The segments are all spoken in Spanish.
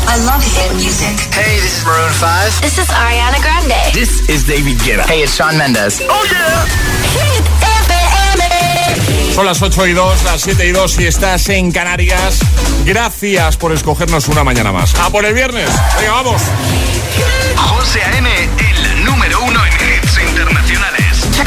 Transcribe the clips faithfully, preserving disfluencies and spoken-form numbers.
I love hit music. Hey, this is Maroon five. This is Ariana Grande. This is David Guetta. Hey, it's Shawn Mendes. Oh yeah. Hit F M. Son las ocho y dos, las siete y dos si estás en Canarias. Gracias por escogernos una mañana más. ¡A por el viernes! ¡Venga, vamos! José A M, el número uno en hits internacionales.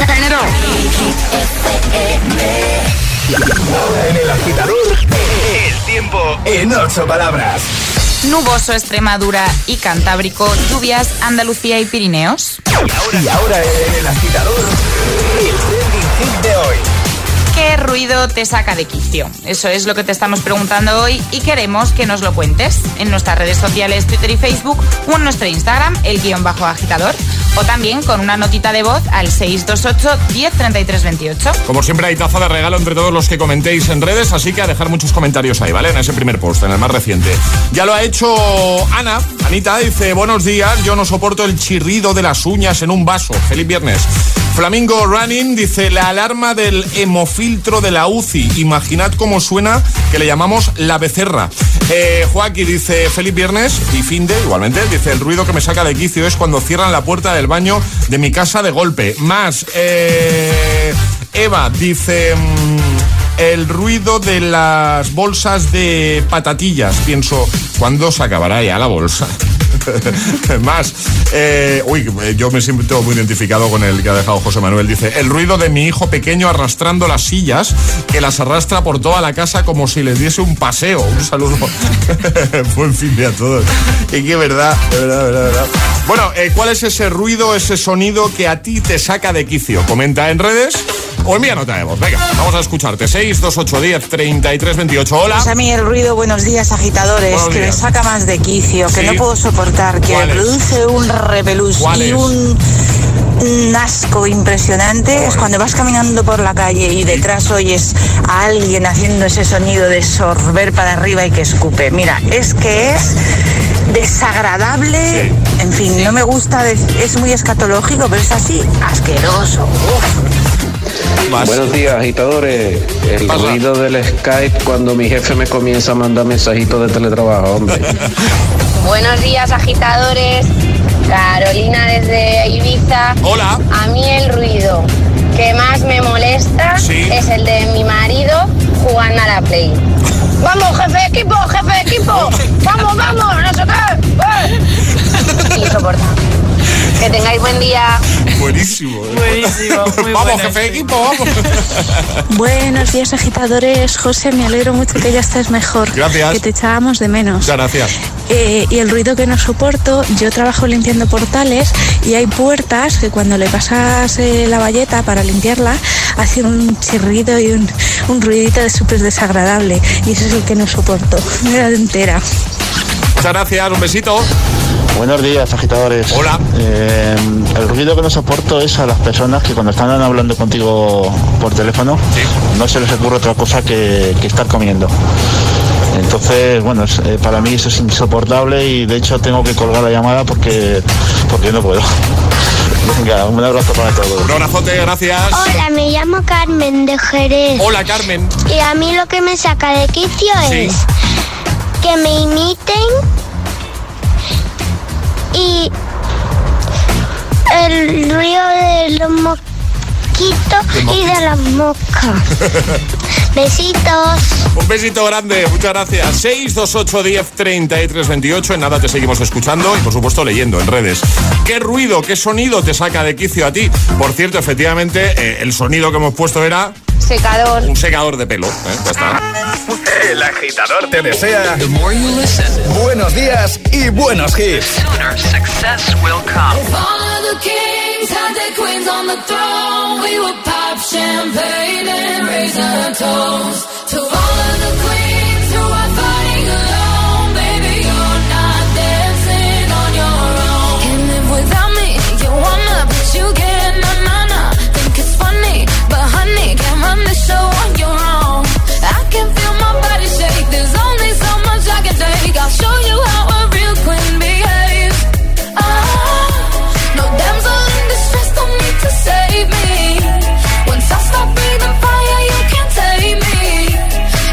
En el agitador, el tiempo en ocho palabras. Nuboso Extremadura y Cantábrico, lluvias Andalucía y Pirineos. Y ahora, y ahora en el agitador, el trending hit de hoy. ¿Qué ruido te saca de quicio? Eso es lo que te estamos preguntando hoy y queremos que nos lo cuentes en nuestras redes sociales, Twitter y Facebook, o en nuestro Instagram, el guión bajo agitador, o también con una notita de voz al seis dos ocho, diez, treinta y tres, veintiocho. Como siempre hay taza de regalo entre todos los que comentéis en redes, así que a dejar muchos comentarios ahí, ¿vale? En ese primer post, en el más reciente. Ya lo ha hecho Ana. Anita dice, buenos días, yo no soporto el chirrido de las uñas en un vaso. Feliz viernes. Flamingo Running dice, la alarma del hemofiltro de la U C I. Imaginad cómo suena, que le llamamos la becerra. Eh, Joaquín dice, feliz viernes. Y Finde, igualmente, dice, el ruido que me saca de quicio es cuando cierran la puerta del baño de mi casa de golpe. Más, eh, Eva dice, mmm, el ruido de las bolsas de patatillas. Pienso, ¿cuándo se acabará ya la bolsa? Más, eh, uy, yo me siento muy identificado con el que ha dejado José Manuel. Dice, el ruido de mi hijo pequeño arrastrando las sillas, que las arrastra por toda la casa como si les diese un paseo. Un saludo. Buen fin de a todos. Y que verdad, de verdad, de verdad, de verdad. Bueno, eh, ¿cuál es ese ruido, ese sonido que a ti te saca de quicio? Comenta en redes o envía nota de voz. Venga, vamos a escucharte. seis dos ocho, diez, treinta y tres, veintiocho. Hola. Pues a mí el ruido, buenos días, agitadores, buenos que días. me saca más de quicio, que ¿Sí? no puedo soportar, que me produce un repelús y un, un asco impresionante. Es cuando vas caminando por la calle y detrás oyes a alguien haciendo ese sonido de sorber para arriba y que escupe. Mira, es que es desagradable, sí. En fin, no me gusta, es muy escatológico, pero es así, asqueroso. Uf. Más. Buenos días, agitadores. El Pasa. ruido del Skype cuando mi jefe me comienza a mandar mensajitos de teletrabajo, hombre. Buenos días, agitadores. Carolina desde Ibiza. Hola. A mí el ruido que más me molesta, ¿sí?, es el de mi marido jugando a la Play. ¡Vamos, jefe de equipo, jefe de equipo! ¡Vamos, vamos! ¡No sé qué! Insoportable. Que tengáis buen día. Buenísimo. Buenísimo. Muy vamos, bueno. jefe de equipo, vamos. Buenos días, agitadores. José, me alegro mucho que ya estés mejor. Gracias. Que te echábamos de menos. Muchas gracias. Eh, y el ruido que no soporto, yo trabajo limpiando portales y hay puertas que cuando le pasas eh, la bayeta para limpiarla, hacen un chirrido y un, un ruidito de súper desagradable. Y ese es el que no soporto. Me da entera. Muchas gracias, un besito. Buenos días, agitadores. Hola. Eh, el ruido que no soporto es a las personas que cuando están hablando contigo por teléfono, sí, no se les ocurre otra cosa que, que estar comiendo. Entonces, bueno, es, eh, para mí eso es insoportable y de hecho tengo que colgar la llamada porque, porque no puedo. Venga, un abrazo para todos. Un abrazote, gracias. Hola, me llamo Carmen de Jerez. Hola, Carmen. Y a mí lo que me saca de quicio sí. es que me imiten y el ruido de los mosquitos y de las moscas. Besitos. Un besito grande, muchas gracias. seis dos ocho, diez, treinta y tres, veintiocho. En nada te seguimos escuchando y por supuesto leyendo en redes. ¿Qué ruido, qué sonido te saca de quicio a ti? Por cierto, efectivamente, eh, el sonido que hemos puesto era... secador. Un secador de pelo, ¿eh? Ya está. El agitador te desea buenos días y buenos hits. Sooner success will come. We would pop champagne and raise our toast to all of the queens who are fighting alone. Baby, you're not dancing on your own. Can't live without me, you wanna, but you can't. Na na na, think it's funny, but honey, can't run the show on your own. I can feel my body shake. There's only so much I can take. I'll show you how a real queen behaves. Ah, no damsel in distress, don't need to save me. Once I stop breathing fire, you can't take me.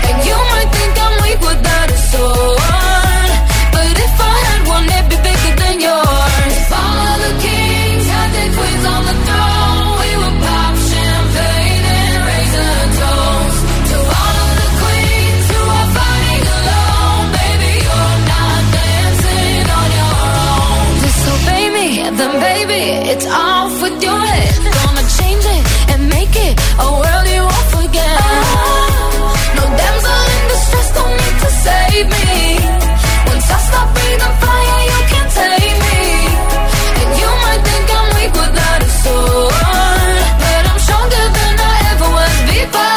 It's off with your head. Gonna change it and make it a world you won't forget. No damsel in distress, don't need to save me. Once I stop breathing fire, you can't take me. And you might think I'm weak without a sword, but I'm stronger than I ever was before.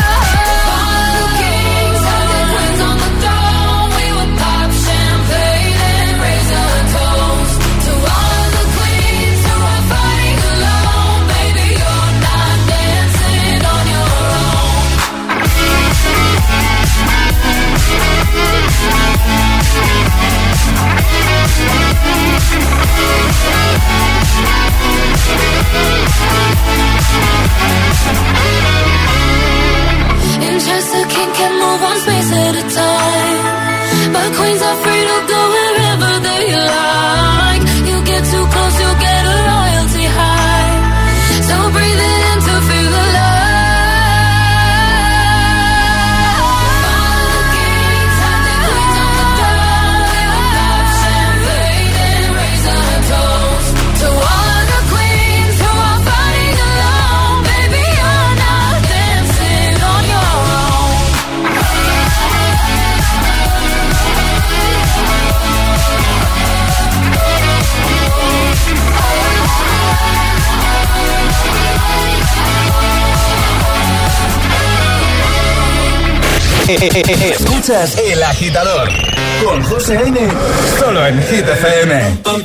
Just a king can move one space at a time, but queens are free to go wherever they like. You get too close, you'll get a royalty high. So breathe it in to feel the love. All the kings have their queens on the throne. We will pop champagne and raise our toast to all the queens who are fighting alone. Baby, you're not dancing on your own. Escuchas El Agitador con José A.M. solo en Hit F M. Oh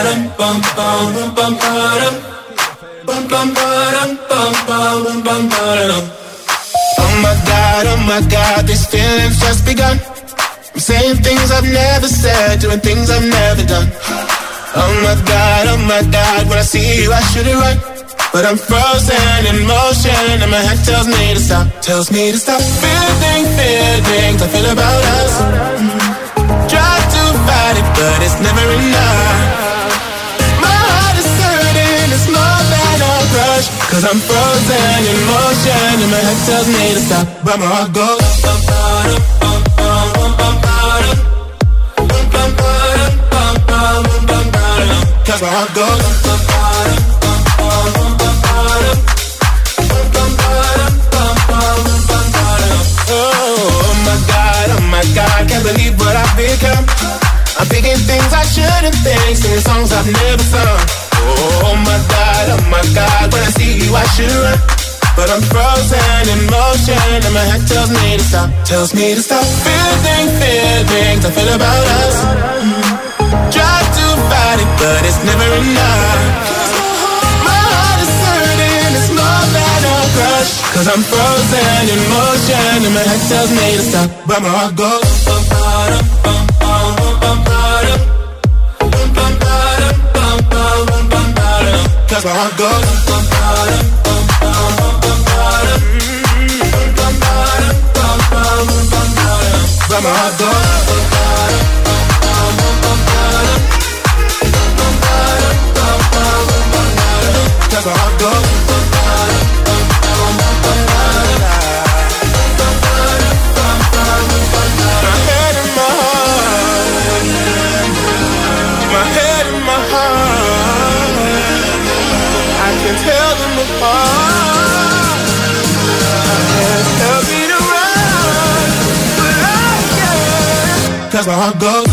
my God, oh my God, these feelings just begun. I'm saying things I've never said, doing things I've never done. Oh my God, oh my God, when I see you I should it right, but I'm frozen in motion and my head tells me to stop, tells me to stop. Feeling, feelings I feel about us. Mm-hmm. Try to fight it, but it's never enough. My heart is hurting, it's more than a crush, cause I'm frozen in motion and my head tells me to stop, but my heart goes bum, bum, bum, bum, bum, bum, bum, bum, bum, bum, cause my heart goes bum, bum, oh my God, oh my God, can't believe what I've become. I'm thinking things I shouldn't think, singing songs I've never sung. Oh my God, oh my God, when I see you I should run, but I'm frozen in motion and my head tells me to stop, tells me to stop. Feeling, feelings I feel about us. Mm-hmm. Try to fight it, but it's never enough. My heart is hurting, it's more than a crush, cause I'm frozen in motion and my head tells me to stop, but my heart goes bum, bum, bum, bum, bum, bum, bum, bum, bum, bum, cause my heart goes bum, bum, bum, bum, bum, bum, but my heart goes cause my heart goes. My head and my heart, my head and my heart, I can tell them apart. I can't help it around, but I can, cause my heart goes.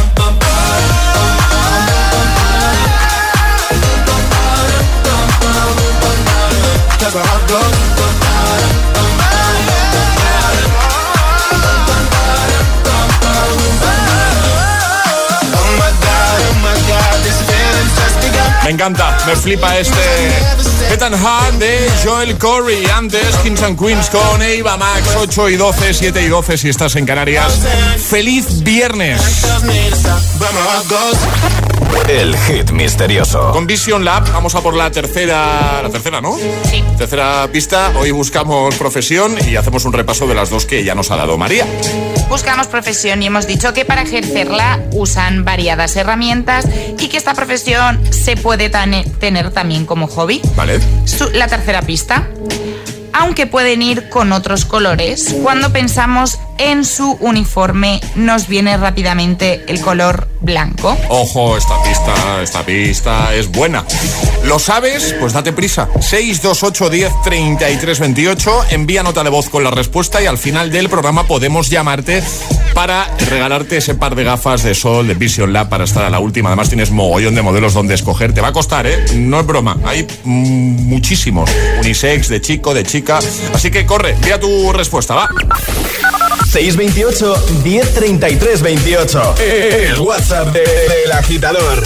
Cause my heart goes. Me encanta, me flipa este Get and Hard de Joel Corey. Antes Kings and Queens con Eva Max. Ocho y doce, siete y doce si estás en Canarias. ¡Feliz viernes! El hit misterioso. Con Vision Lab vamos a por la tercera. La tercera, ¿no? Sí. Tercera pista. Hoy buscamos profesión y hacemos un repaso de las dos que ya nos ha dado María. Buscamos profesión y hemos dicho que para ejercerla usan variadas herramientas y que esta profesión se puede tane- tener también como hobby. Vale. Su- la tercera pista. Aunque pueden ir con otros colores cuando pensamos en su uniforme nos viene rápidamente el color blanco. Ojo, esta pista, esta pista es buena. ¿Lo sabes? Pues date prisa. seis dos ocho uno cero treinta y tres veintiocho. Envía nota de voz con la respuesta y al final del programa podemos llamarte para regalarte ese par de gafas de sol de Vision Lab para estar a la última. Además tienes mogollón de modelos donde escoger. Te va a costar, ¿eh? No es broma. Hay mm, muchísimos. Unisex, de chico, de chica. Así que corre, envía tu respuesta, va. seis veintiocho, diez treinta y tres veintiocho. El WhatsApp de, de El Agitador.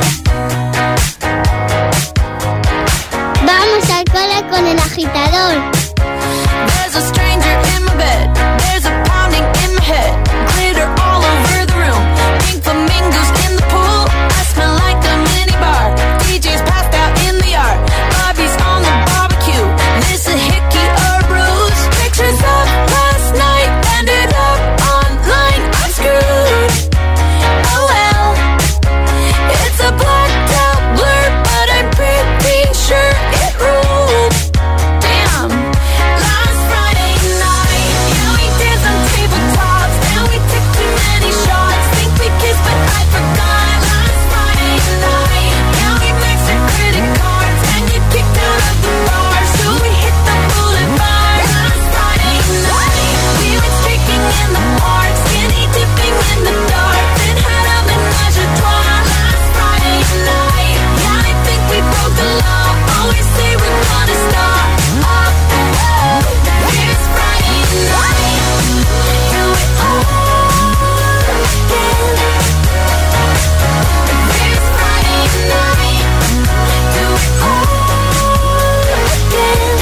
Vamos al cole con El Agitador. There's a stranger in my bed. There's a pounding in my head. Glitter all over the room. Pink flamingos in the pool. I smell like a mini bar. D J's passed out in the yard. Bobby's on the barbecue. This a hickey or bruise. Pictures of last night ended up online. I'm screwed. Oh well. It's a blacked out blur, but I'm pretty sure it ruled. Damn. Last Friday night, yeah, we danced on tabletops. Now we took too many shots. Think we kissed, but I forgot. Last Friday night, yeah, we maxed our credit cards and get kicked out of the bar, so we hit the boulevard. Last Friday night, we went streaking in the park, skinny dipping in the dark, then had a menage a trois. Last Friday night, yeah, I think we broke the law. Always say we're gonna stop. Oh, oh, here's Friday night. Do it all again. Here's Friday night. Do it all again.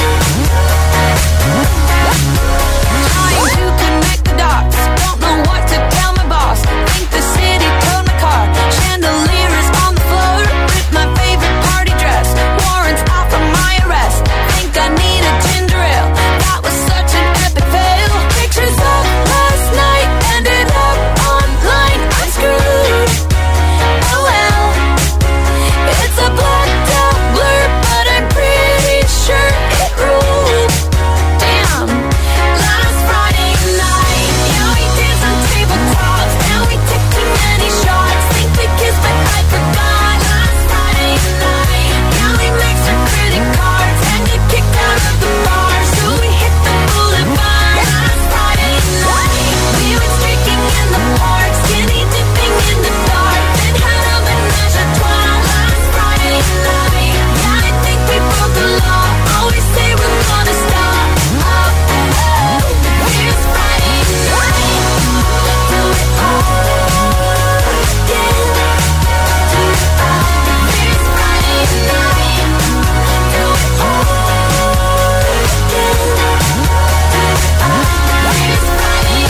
Trying to connect the dots. Don't know what to tell my boss. Think the city towed my car. Chandelier is on the floor. Ripped my favorite party dress. Warrants out for my arrest. Think I need a ginger ale. That was such an epic fail. Pictures of last night ended up online. I'm screwed. Oh well. It's a blacked out blur, but I'm pretty sure it ruled. Damn. Last Friday night, yeah, we danced on tabletops. Now we took too many shots. Think we kissed, but I forgot. Last Friday night, yeah, we maxed our credit cards and get kicked out of the bar, so we hit the boulevard. Last Friday night, we went streaking in the park, skinny dipping in the dark, then had a menage a trois. Last Friday night, yeah, I think we broke the law. Always say we're gonna stop. Oh, oh, here's Friday night. Do it all again. Do it all. Here's Friday night. Do it all again. Do it all. Here's Friday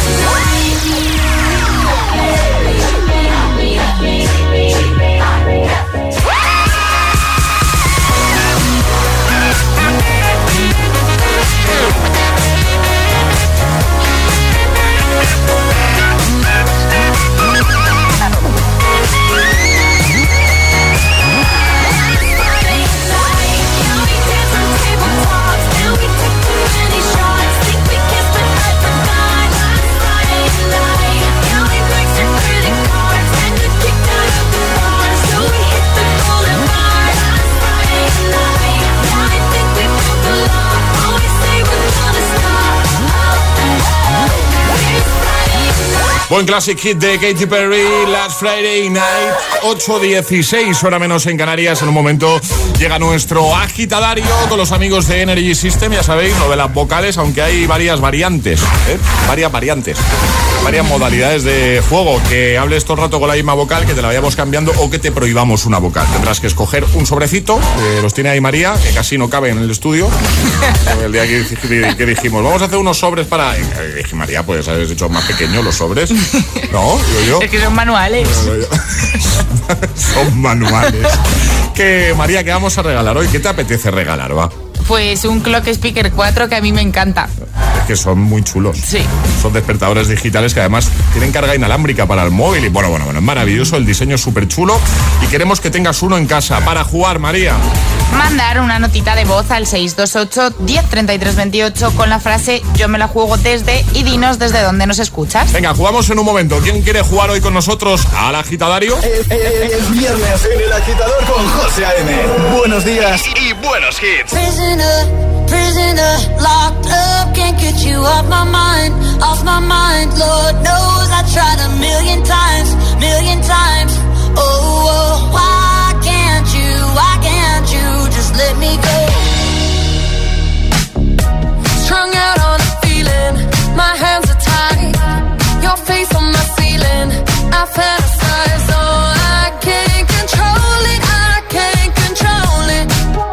Buen classic hit de Katy Perry, Last Friday Night, ocho dieciséis, hora menos en Canarias. En un momento llega nuestro agitadario con los amigos de Energy System. Ya sabéis, lo de las vocales, aunque hay varias variantes, ¿eh? Varias variantes, varias modalidades de juego. Que hables todo el rato con la misma vocal, que te la vayamos cambiando o que te prohibamos una vocal. Tendrás que escoger un sobrecito, eh, los tiene ahí María, que casi no cabe en el estudio. El día que, que dijimos, vamos a hacer unos sobres para... Eh, dije, María, pues habéis hecho más pequeños los sobres. No, digo yo. Es que son manuales. Son manuales. Que, María, ¿qué vamos a regalar hoy? ¿Qué te apetece regalar, va? Pues un Clock Speaker cuatro que a mí me encanta. que son muy chulos. Sí. Son despertadores digitales que además tienen carga inalámbrica para el móvil. Y bueno, bueno, bueno, es maravilloso, el diseño es súper chulo. Y queremos que tengas uno en casa para jugar, María. Mandar una notita de voz al seis dos ocho, diez, treinta y tres, veintiocho con la frase yo me la juego desde y dinos desde dónde nos escuchas. Venga, jugamos en un momento. ¿Quién quiere jugar hoy con nosotros al agitadario? Es, es, es viernes en el agitador con José A M. Buenos días y, y buenos hits. Prisoner, prisoner, locked up, can't get you off my mind, off my mind. Lord knows I tried a million times, million times. Oh, oh, why can't you, why can't you just let me go? Strung out on a feeling, my hands are tied, your face on my ceiling, I fantasize, oh, I can't control it, I can't control it.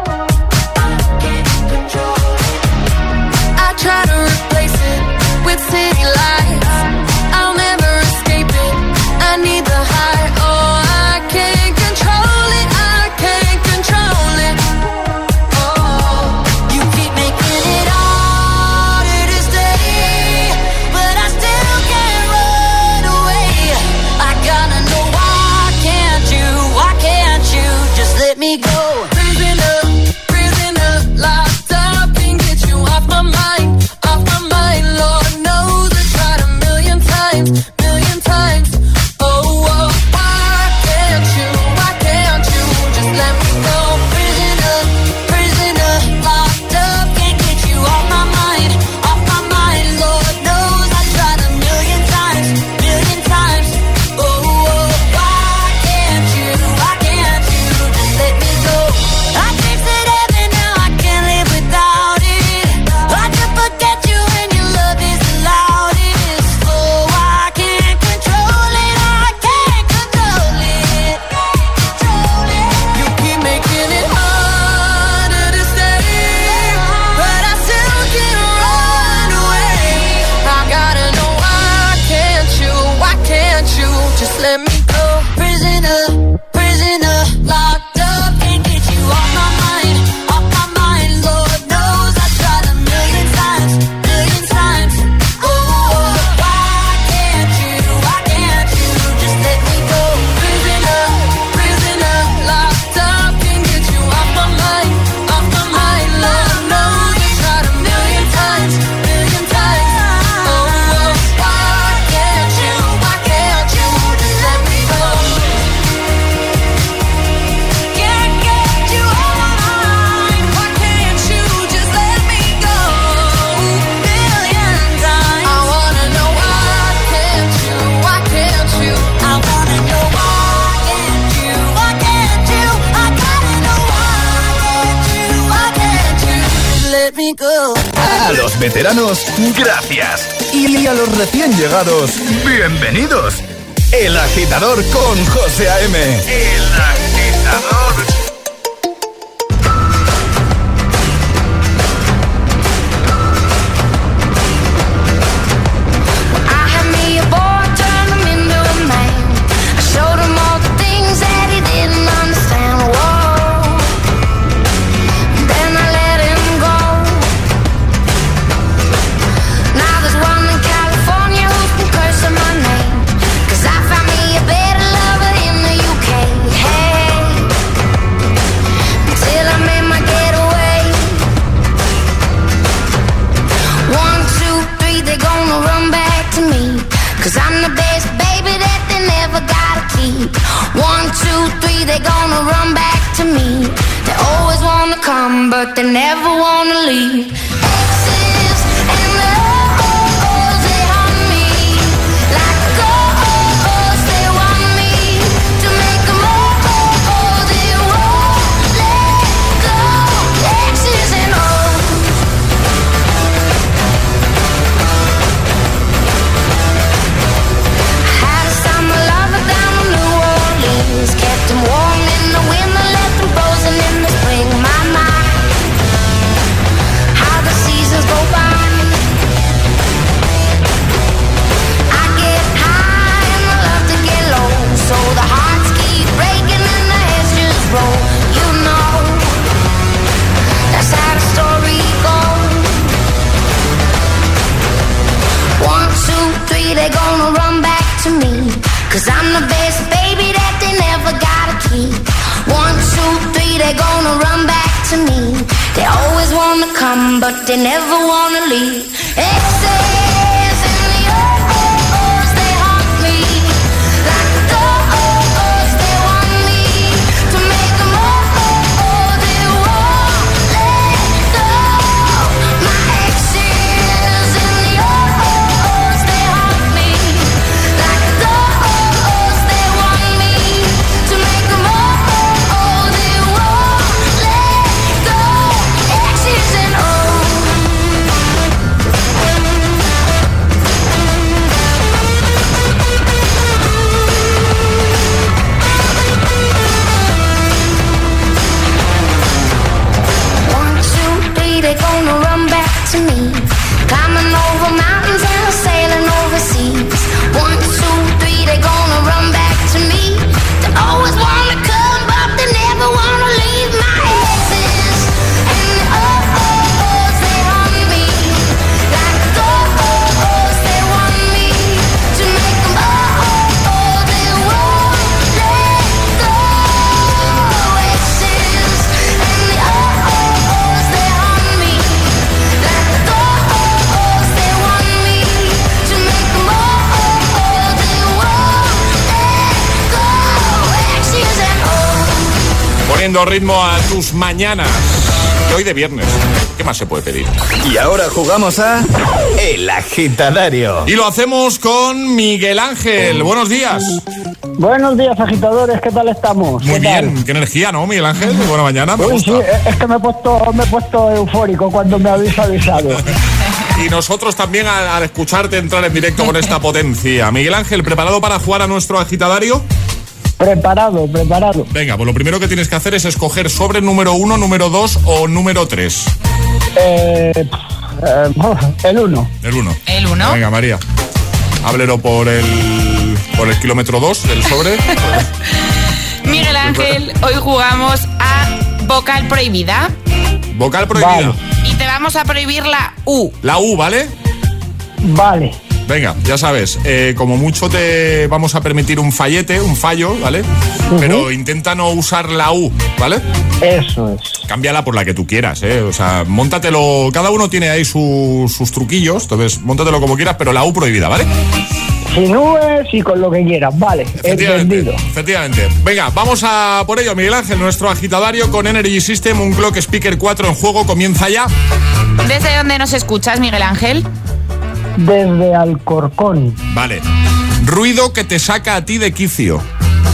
I try to replace it with city lights, I'll never escape it, I need the high, oh, I can't control it, I can't control it. Oh, you keep making it harder to stay, but I still can't run away. I gotta know why can't you, why can't you just let me go? Prisoner, prisoner, locked up, can't get you off my mind, off my mind. Lord knows I tried a million times, million times. Oh, oh, why can't you, why can't you just let me go? Prisoner, prisoner, locked up, can't get you off my mind, off my mind. Lord knows I tried a million times, million times. Oh, oh, why can't you, why can't you just let me go? I tasted heaven, now I can't live without it. I can forget you when your love is the loudest. Oh, I can't control it, I can't control it. You keep making it harder to stay, but I still can't run away. I gotta know why can't you, why can't you just let me go? Prisoner, prisoner, locked up, can't get you off my mind, off my mind. Lord knows I tried a million times, million times. Oh, why can't you, why can't you just let me go? Prisoner, prisoner, locked up, can't get you off my mind, off my mind. Lord knows I tried a million times, million times. Oh, why can't you, why can't you just let me go? Can't get you off my mind, why can't you just let me go? Million times. I wanna know why can't you, why can't you? I wanna know why can't you, why can't you? I gotta know why can't you, why can't you just let me go? A los veteranos, gracias. Y a los recién llegados, bienvenidos. El agitador con José A M. El agitador. I had me a boy, turned him into a man. I showed him all the things that he didn't understand. Whoa. Then I let him go. Now there's one in California who's been cursing my name, 'cause I found me a better lover in the U K. Hey, till I made my getaway. One, two, three, they're gonna run back to me, 'cause I'm the best baby that they never gotta keep. One, two, three, they're gonna run back to me. They always wanna come, but they never wanna leave. Exes and O's, they haunt me like ghosts. They want me to make 'em all, they won't let go. Exes and O's. I had a summer lover down in New Orleans, kept him warm in the winter, left him frozen in the spring. My, my, how the seasons come, but they never wanna leave. Exes in the oh-oh-ohs, they haunt me. Like oh-oh-ohs, they want me to make them oh-oh-oh, they won't let go. My exes in the oh-oh-ohs, they haunt me. Like oh-oh-ohs, they want me to make them oh-oh-oh, they won't let go. Exes and oh. One, two, three, they're gonna run back to me. Climbing over mountains and sailing overseas. One, two, three, they're gonna run back to me. They always wanna come, but they never wanna leave. My exes and the oh-oh-ohs, they haunt me. Like oh-oh-ohs, they want me to make them oh-oh-oh, they won't let go. Exes and the oh-oh-ohs, they haunt me. Like oh-oh-ohs, they want me to make them oh-oh-oh, they won't let go. Exes and oh. Poniendo ritmo a tus mañanas. Y hoy de viernes. ¿Qué más se puede pedir? Y ahora jugamos a El Agitadario. Y lo hacemos con Miguel Ángel. Buenos días. Buenos días, agitadores, ¿qué tal estamos? Muy ¿Qué bien. tal? Qué energía, ¿no, Miguel Ángel? Muy buena mañana. Me Uy, gusta. sí, es que me he puesto, me he puesto eufórico cuando me habéis avisado. Y nosotros también al, al escucharte entrar en directo con esta potencia. Miguel Ángel, ¿preparado para jugar a nuestro agitadario? Preparado, preparado. Venga, pues lo primero que tienes que hacer es escoger sobre número uno, número dos o número tres. Eh, eh, el uno. El uno. El uno. Venga, María. Háblelo por el por el kilómetro dos del sobre. Miguel Ángel, hoy jugamos a vocal prohibida. Vocal prohibida. Y te vamos a prohibir la U. La U, ¿vale? Vale. Venga, ya sabes, eh, como mucho te vamos a permitir un fallete, un fallo, ¿vale? Uh-huh. Pero intenta no usar la U, ¿vale? Eso es. Cámbiala por la que tú quieras, ¿eh? O sea, móntatelo, cada uno tiene ahí su, sus truquillos, entonces móntatelo como quieras, pero la U prohibida, ¿vale? Sin nubes y con lo que quieras, vale, entendido. Efectivamente. Venga, vamos a por ello, Miguel Ángel, nuestro agitadario con Energy System, un Clock Speaker cuatro en juego, comienza ya. ¿Desde dónde nos escuchas, Miguel Ángel? Desde Alcorcón. Vale. Ruido que te saca a ti de quicio.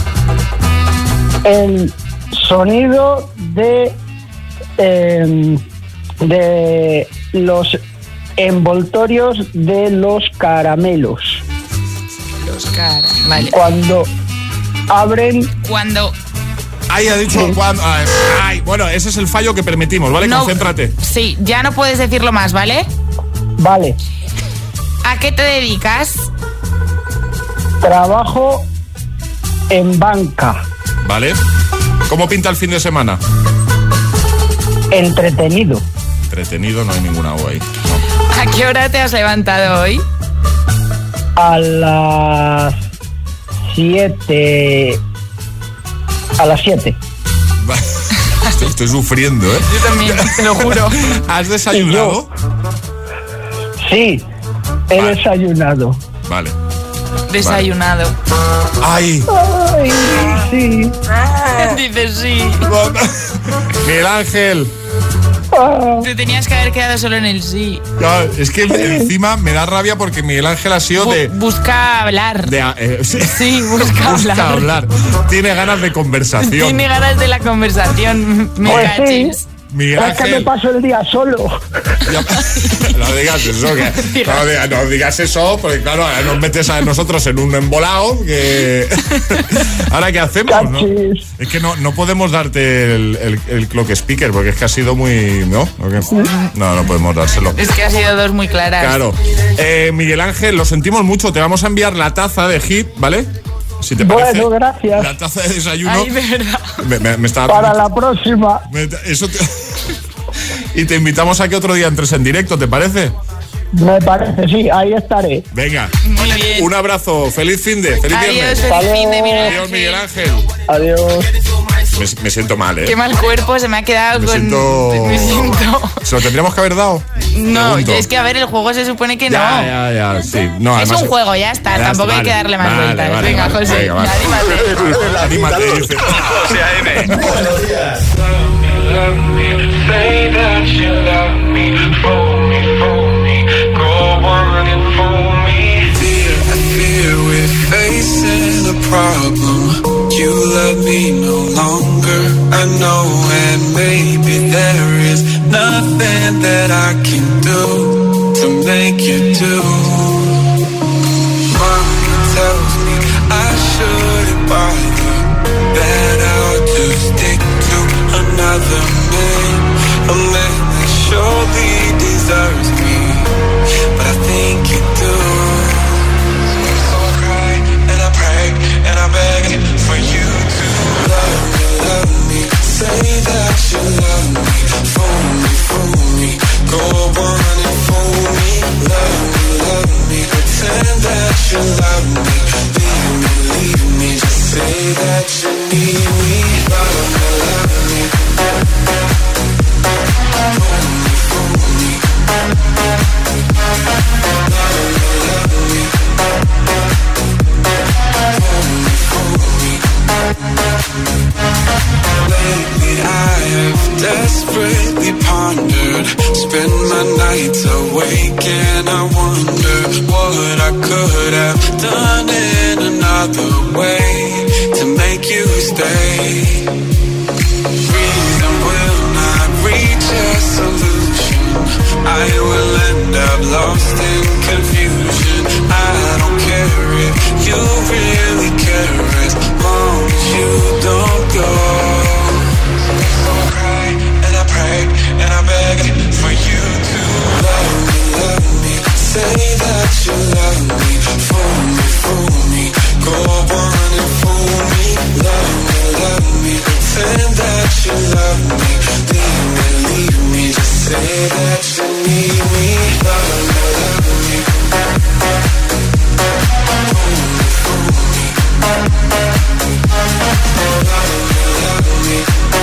El sonido de eh, de los envoltorios de los caramelos. Los caramelos. Vale. Cuando abren. Cuando. Ahí ha dicho sí. Cuando. Ay, ay, bueno, ese es el fallo que permitimos, ¿vale? No, concéntrate. Sí, ya no puedes decirlo más, ¿vale? Vale. ¿A qué te dedicas? Trabajo en banca. Vale. ¿Cómo pinta el fin de semana? Entretenido. Entretenido, no hay ninguna U ahí. No. ¿A qué hora te has levantado hoy? A las siete. A las siete. Estoy, estoy sufriendo, ¿eh? Yo también, te lo juro. ¿Has desayunado? Sí. He vale. desayunado. Vale. Desayunado. Ay. Ay, sí. Dice sí. Miguel Ángel. Te tenías que haber quedado solo en el sí. No, es que encima me da rabia porque Miguel Ángel ha sido de... Busca hablar. De, eh, sí, sí, busca, busca hablar. hablar. Tiene ganas de conversación. Tiene ganas de la conversación. Me pues cachis. Sí. Miguel Ángel. Es que me paso el día solo. No digas eso, que, no, digas, no digas eso, porque claro, nos metes a nosotros en un embolado que... Ahora, ¿qué hacemos? ¿No? Es que no, no podemos darte el, el, el clock speaker, porque es que ha sido muy... ¿No? No, no podemos dárselo. Es que ha sido dos muy claras. Claro. Eh, Miguel Ángel, lo sentimos mucho, te vamos a enviar la taza de Hit, ¿vale? Si te parece, bueno, gracias. La taza de desayuno. Ay, de verdad. Me, me, me está... Para la próxima. Me, eso te... Y te invitamos a que otro día entres en directo, ¿te parece? Me parece, sí, ahí estaré. Venga. Muy bien. Un abrazo, feliz fin de, feliz Adiós, viernes. feliz fin de, Miguel Ángel. Adiós, Miguel Ángel. Adiós. me, me siento mal, ¿eh? Qué mal cuerpo, se me ha quedado me con... Siento... Me siento... ¿Se lo tendríamos que haber dado? No, Pregunto. es que a ver, el juego se supone que ya, no. Ya, ya, sí. No, es además, un juego, ya está, ya tampoco está, hay que vale, darle más vale, vueltas. vale, venga, vale, José, venga, vale. anímate. Anímate, dice. José A M. Buenos días. Love me, say that you love me, fool me, fool me, go on and fool me. Fear, I fear we're facing a problem. You love me no longer, I know, and maybe there is nothing that I can do to make you do. Mommy tells me I shouldn't bother, that I'll just stick to another man, a man that surely deserves me, but I think you do. So I cry and I pray and I beg for you to love me, love me, say that you love me, fool me, fool me, go on and fool me, love me, love me, pretend that you love me, leave me, leave me, just say that you need me, love me, love me, fool me, fool me, love me, love me, fool me, fool me. Lately I have desperately pondered, spend my nights awake and I wonder what I could have done in another way to make you stay. Reason will not reach a solution, I will end up lost in confusion. I don't care if you really care as long as you don't go. So I cry and I pray and I beg for you to love me, love me, say that you love me, fool me, fool me, go on and fool me, love me, love me, pretend that you love me, leave me, leave me, just say that you need me, love me, love me, fool me, fool me, love me, love me,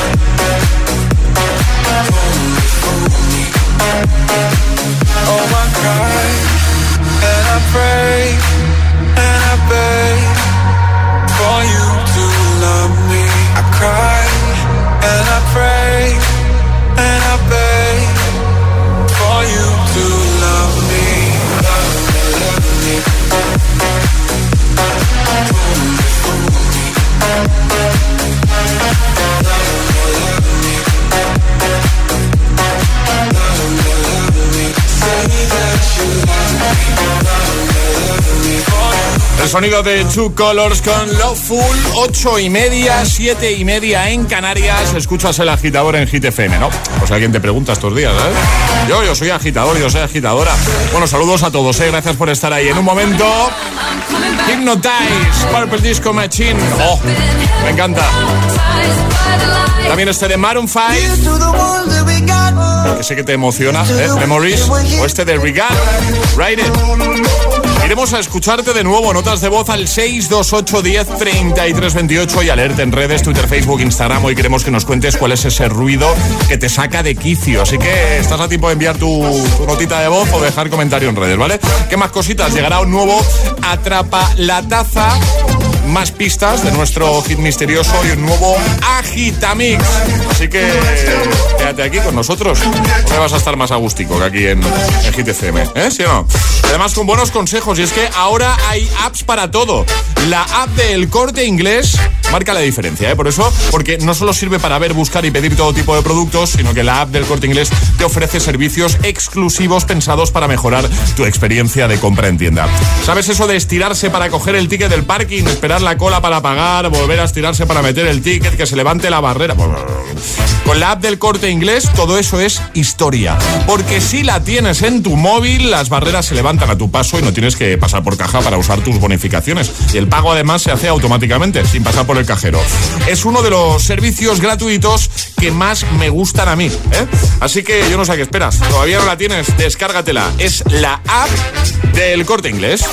fool me, fool me. Oh, I cry and I pray and I beg for you to love me. I cry and I pray and I beg for you to love me. Love me, love me, fool me, fool me, love me, love me, love me, love me, say that you love me, love me, love me, for you. El sonido de Two Colors con Loveful, ocho y media, siete y media en Canarias. Escuchas el agitador en Hit F M, ¿no? Pues alguien te pregunta estos días, ¿eh? Yo, yo soy agitador, yo soy agitadora. Bueno, saludos a todos, ¿eh? Gracias por estar ahí. En un momento, Hypnotize, Purple Disco Machine. Oh, me encanta. También este de Maroon cinco, que sé que te emociona, ¿eh? Memories. O este de Regard, Ride It. Iremos a escucharte de nuevo, notas de voz al seis dos ocho uno cero tres tres dos ocho y a leerte en redes, Twitter, Facebook, Instagram. Hoy queremos que nos cuentes cuál es ese ruido que te saca de quicio. Así que estás a tiempo de enviar tu, tu notita de voz o dejar comentario en redes, ¿vale? ¿Qué más cositas? Llegará un nuevo Atrapa la Taza, más pistas de nuestro hit misterioso y un nuevo Agitamix. Así que quédate aquí con nosotros. No vas a estar más agústico que aquí en, en Hit F M, ¿eh? ¿Sí o no? Además con buenos consejos, y es que ahora hay apps para todo. La app del Corte Inglés marca la diferencia, ¿eh? Por eso, porque no solo sirve para ver, buscar y pedir todo tipo de productos, sino que la app del Corte Inglés te ofrece servicios exclusivos pensados para mejorar tu experiencia de compra en tienda. ¿Sabes eso de estirarse para coger el ticket del parking, esperar la cola para pagar, volver a estirarse para meter el ticket, que se levante la barrera? Con la app del Corte Inglés todo eso es historia, porque si la tienes en tu móvil, las barreras se levantan a tu paso y no tienes que pasar por caja para usar tus bonificaciones, y el pago además se hace automáticamente sin pasar por el cajero. Es uno de los servicios gratuitos que más me gustan a mí, ¿eh? Así que yo no sé a qué esperas, todavía no la tienes, descárgatela. Es la app del Corte Inglés.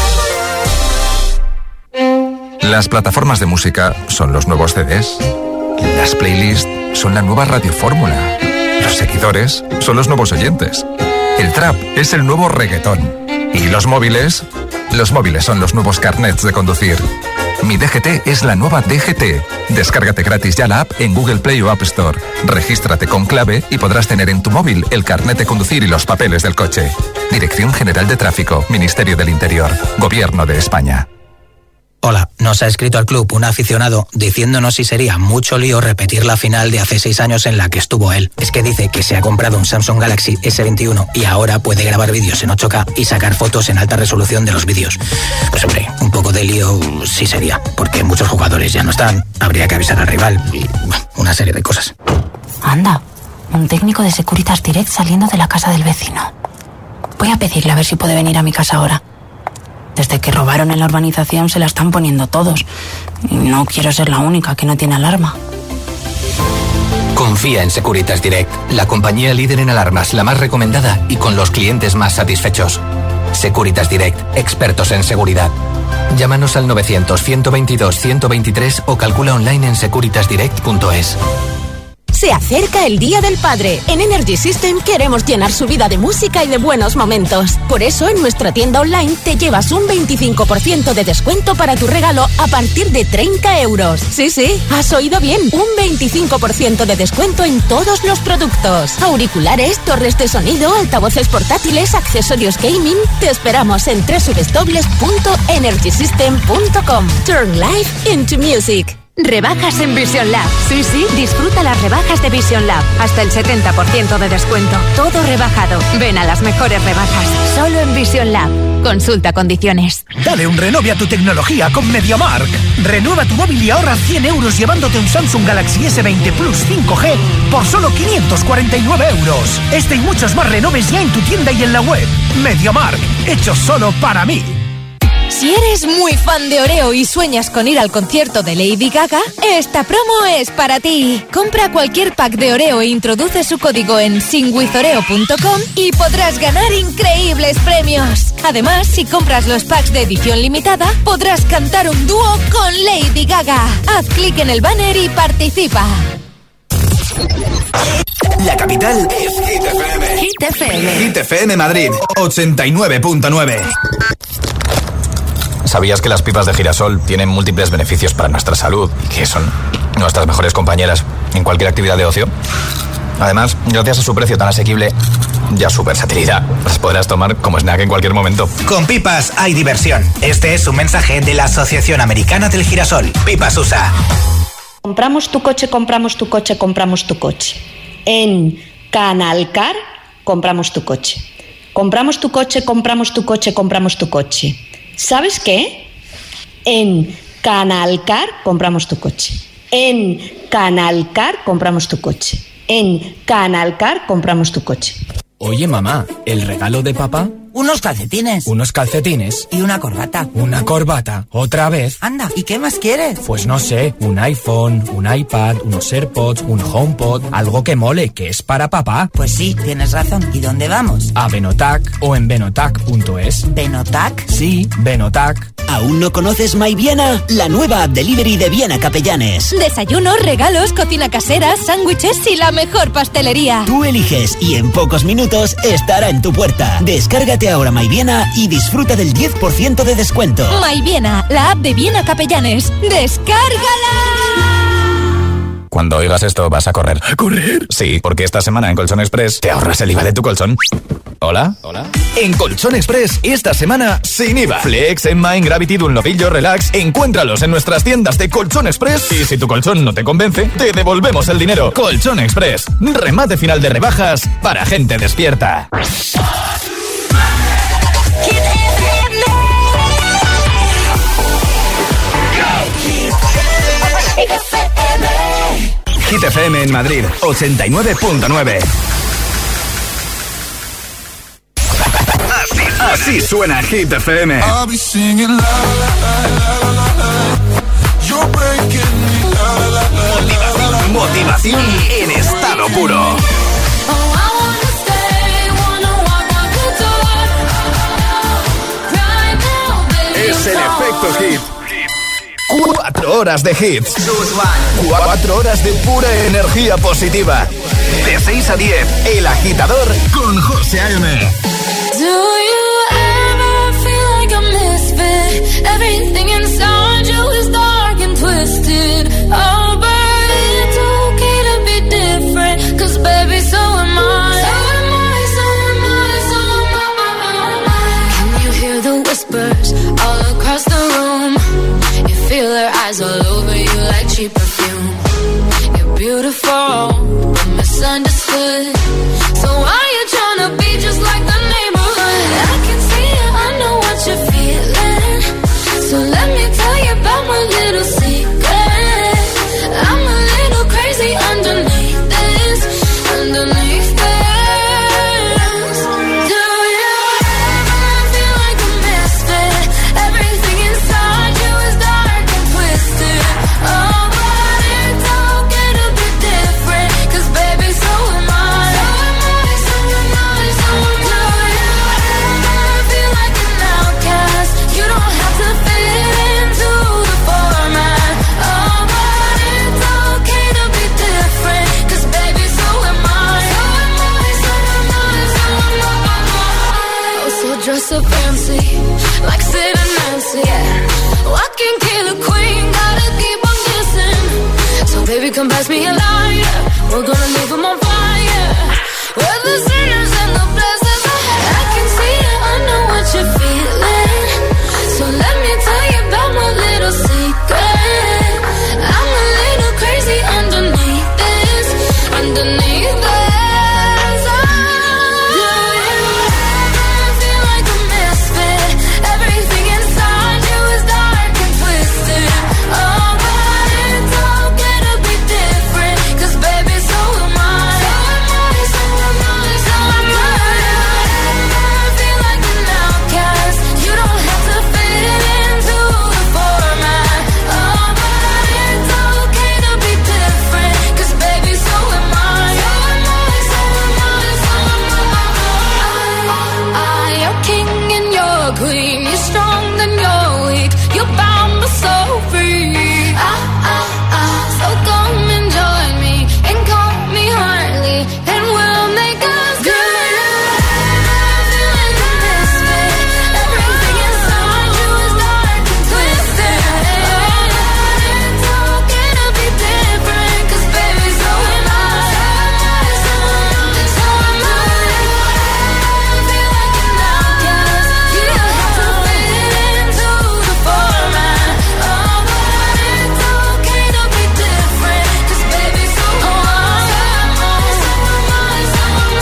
Las plataformas de música son los nuevos C Ds. Las playlists son la nueva radiofórmula. Los seguidores son los nuevos oyentes. El trap es el nuevo reggaetón. ¿Y los móviles? Los móviles son los nuevos carnets de conducir. Mi D G T es la nueva D G T. Descárgate gratis ya la app en Google Play o App Store. Regístrate con clave y podrás tener en tu móvil el carnet de conducir y los papeles del coche. Dirección General de Tráfico, Ministerio del Interior, Gobierno de España. Hola, nos ha escrito al club un aficionado diciéndonos si sería mucho lío repetir la final de hace seis años en la que estuvo él. Es que dice que se ha comprado un Samsung Galaxy ese veintiuno y ahora puede grabar vídeos en ocho K y sacar fotos en alta resolución de los vídeos. Pues hombre, un poco de lío sí sería, porque muchos jugadores ya no están, habría que avisar al rival y bueno, una serie de cosas. Anda, un técnico de Securitas Direct saliendo de la casa del vecino. Voy a pedirle a ver si puede venir a mi casa ahora. Desde que robaron en la urbanización se la están poniendo todos. Y no quiero ser la única que no tiene alarma. Confía en Securitas Direct, la compañía líder en alarmas, la más recomendada y con los clientes más satisfechos. Securitas Direct, expertos en seguridad. Llámanos al novecientos, ciento veintidós, ciento veintitrés o calcula online en securitas direct punto es. Se acerca el Día del Padre. En Energy System queremos llenar su vida de música y de buenos momentos. Por eso en nuestra tienda online te llevas un veinticinco por ciento de descuento para tu regalo a partir de treinta euros. Sí, sí, has oído bien. Un veinticinco por ciento de descuento en todos los productos. Auriculares, torres de sonido, altavoces portátiles, accesorios gaming. Te esperamos en doble u doble u doble u punto energy system punto com. Turn life into music. Rebajas en Vision Lab. Sí, sí, disfruta las rebajas de Vision Lab. Hasta el setenta por ciento de descuento. Todo rebajado. Ven a las mejores rebajas. Solo en Vision Lab. Consulta condiciones. Dale un renove a tu tecnología con MediaMarkt. Renueva tu móvil y ahorra cien euros llevándote un Samsung Galaxy ese veinte Plus cinco G por solo quinientos cuarenta y nueve euros. Este y muchos más renoves ya en tu tienda y en la web. MediaMarkt. Hecho solo para mí. Si eres muy fan de Oreo y sueñas con ir al concierto de Lady Gaga, esta promo es para ti. Compra cualquier pack de Oreo e introduce su código en sing with oreo punto com y podrás ganar increíbles premios. Además, si compras los packs de edición limitada, podrás cantar un dúo con Lady Gaga. Haz clic en el banner y participa. La capital es Hit F M. Hit F M. Hit F M Madrid, ochenta y nueve punto nueve. ¿Sabías que las pipas de girasol tienen múltiples beneficios para nuestra salud y que son nuestras mejores compañeras en cualquier actividad de ocio? Además, gracias a su precio tan asequible y a su versatilidad, las podrás tomar como snack en cualquier momento. Con Pipas hay diversión. Este es un mensaje de la Asociación Americana del Girasol. Pipas U S A. Compramos tu coche, compramos tu coche, compramos tu coche. En Canalcar, compramos tu coche. Compramos tu coche, compramos tu coche, compramos tu coche. ¿Sabes qué? En Canalcar compramos tu coche. En Canalcar compramos tu coche. En Canalcar compramos tu coche. Oye, mamá, ¿el regalo de papá? Unos calcetines. Unos calcetines. Y una corbata. Una corbata. ¿Otra vez? Anda, ¿y qué más quieres? Pues no sé, un iPhone, un iPad, unos AirPods, un HomePod, algo que mole, que es para papá. Pues sí, tienes razón. ¿Y dónde vamos? A Benotac o en benotac punto es. ¿Benotac? Sí, Benotac. ¿Aún no conoces My Viena? La nueva app delivery de Viena Capellanes. Desayunos, regalos, cocina casera, sándwiches y la mejor pastelería. Tú eliges y en pocos minutos estará en tu puerta. Descárgate ahora My Viena y disfruta del diez por ciento de descuento. My Viena, la app de Viena Capellanes. ¡Descárgala! Cuando oigas esto vas a correr. ¿A correr? Sí, porque esta semana en Colchón Express te ahorras el I V A de tu colchón. ¿Hola? ¿Hola? En Colchón Express, esta semana, sin I V A. Flex, Emma, Gravity, Dunlopillo, Relax. Encuéntralos en nuestras tiendas de Colchón Express. Y si tu colchón no te convence, te devolvemos el dinero. Colchón Express. Remate final de rebajas para gente despierta. Hit F M en Madrid, ochenta y nueve punto nueve. Así, así suena Hit F M. Motivación, motivación en estado puro. Es el efecto Hit. Cuatro Cuatro horas de hits. Cuatro horas de pura energía positiva. De seis a diez, El Agitador con José A M. Do you ever feel like a misfit? Everything inside you is dark and twisted. Oh, but it's okay to be different. Cause baby, so am I. So am I, so am I, so am I. Can you hear the whispers all across the room? You feel their eyes all over you like cheap perfume. You're beautiful, but misunderstood. So why you tryna be just like the neighborhood? I can see it, I know what you're feeling. So let me tell you about my little secret. I'm a little crazy underneath this, underneath this. Do you ever feel like a misfit? Everything inside you is dark and twisted. Oh, but it's okay to be different. Cause baby, so am I. So am I, so am I, so am I. Do you ever feel like an outcast? You don't have to fit into the format. Oh, but it's okay to be different. Cause baby, so am I. So am I, so am I, so am I. Oh, so dress up fancy, like Sid and Nancy. Yeah. Oh, I can kill a queen, gotta keep on kissing. So baby, come pass me a lighter. We're gonna leave them on fire. We're the sinners and the blessings. I can see it, I know what you're feeling. So let me tell you about my little secret. I'm a little crazy underneath this, underneath this. Do you ever feel like a misfit? Everything inside you is dark and twisted. Oh, but it's okay to be different. Cause baby, so am I. So am I, so am I, so am I. Do you ever feel like an outcast? You don't have to fit into the format. Oh, but it's okay to be different. Cause baby, so am I. So am I, so am I, so am I. I, you're king and you're queen. You're strong and you're weak. You're bound but so free. Ah, ah, ah. So come and join me and call me Harley, and we'll make us good. Feel like a misfit. Everything inside you is dark and twisted. It's okay to be different. Cause baby, so am I. So am I, so am I. Feel like an outcast. You don't have to fit into the format. Oh, but it's okay to be different. Cause baby, so am I. So am I, so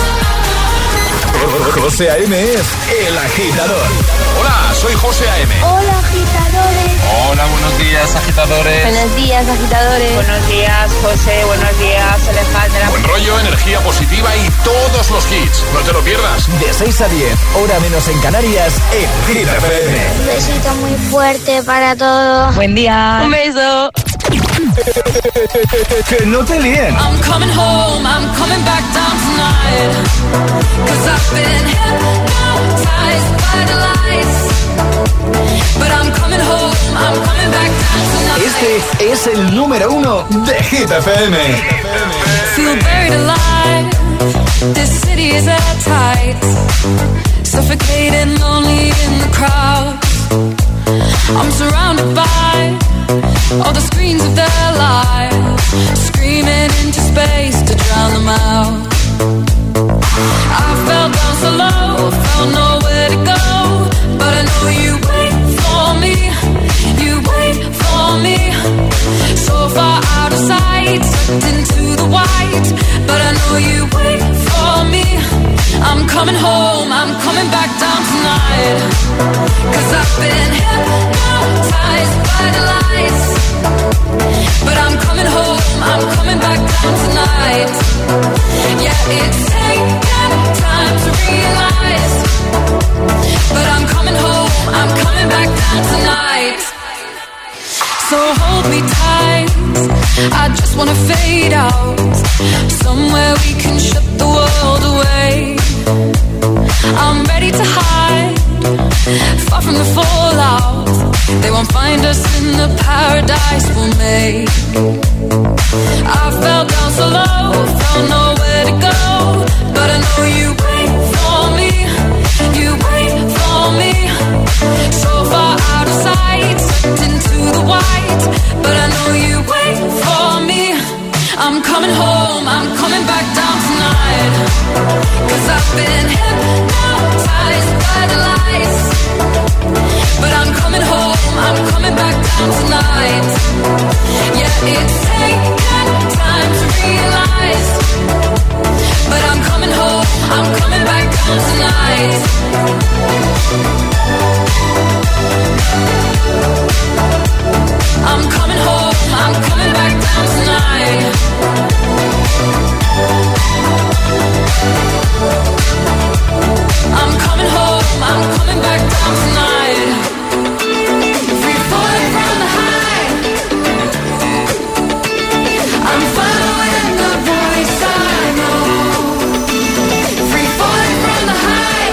am I. José A M es El Agitador. Hola, soy José A M. Hola, agitadores. Hola, buenos días, agitadores. Buenos días, agitadores. Buenos días, José. Buenos días, Alejandra. Buen rollo, energía positiva y todos los hits. No te lo pierdas. De seis a diez, hora menos en Canarias, en Hit F M. Un besito muy fuerte para todos. Buen día. Un beso. Que no te líen. I'm coming home, I'm coming back down tonight. Cause I've been hypnotized by the lights. But I'm coming home, I'm coming back down tonight. Este es el número uno de Hit F M. Feel buried alive. This city is at tight. Suffocating, lonely in the crowd. I'm surrounded by all the screens of their lives, screaming into space to drown them out. I fell down so low, found nowhere to go, but I know you wait for me, you wait for me. So far out of sight, sucked into the white, but I know you wait for me. I'm coming home, I'm coming back down tonight. Cause I've been hypnotized by the lights. But I'm coming home, I'm coming back down tonight. Yeah, it's taken time to realize. But I'm coming home, I'm coming back down tonight. So hold me tight, I just wanna fade out. Somewhere we can shut the world away. I'm ready to hide far from the fallout. They won't find us in the paradise we'll make. I fell down so low, found nowhere to go, but I know you wait for me, you wait for me. So far out of sight, sucked into the white, but I know you wait for me. I'm coming home, I'm coming back down tonight, 'cause I've been hypnotized by the lights. But I'm coming home, I'm coming back down tonight. Yeah, it's taken time to realize, but I'm coming home, I'm coming back down tonight. I'm coming home, I'm coming back down tonight. I'm coming home, I'm coming back down tonight. Free falling from the high, I'm following the voice I know. Free falling from the high,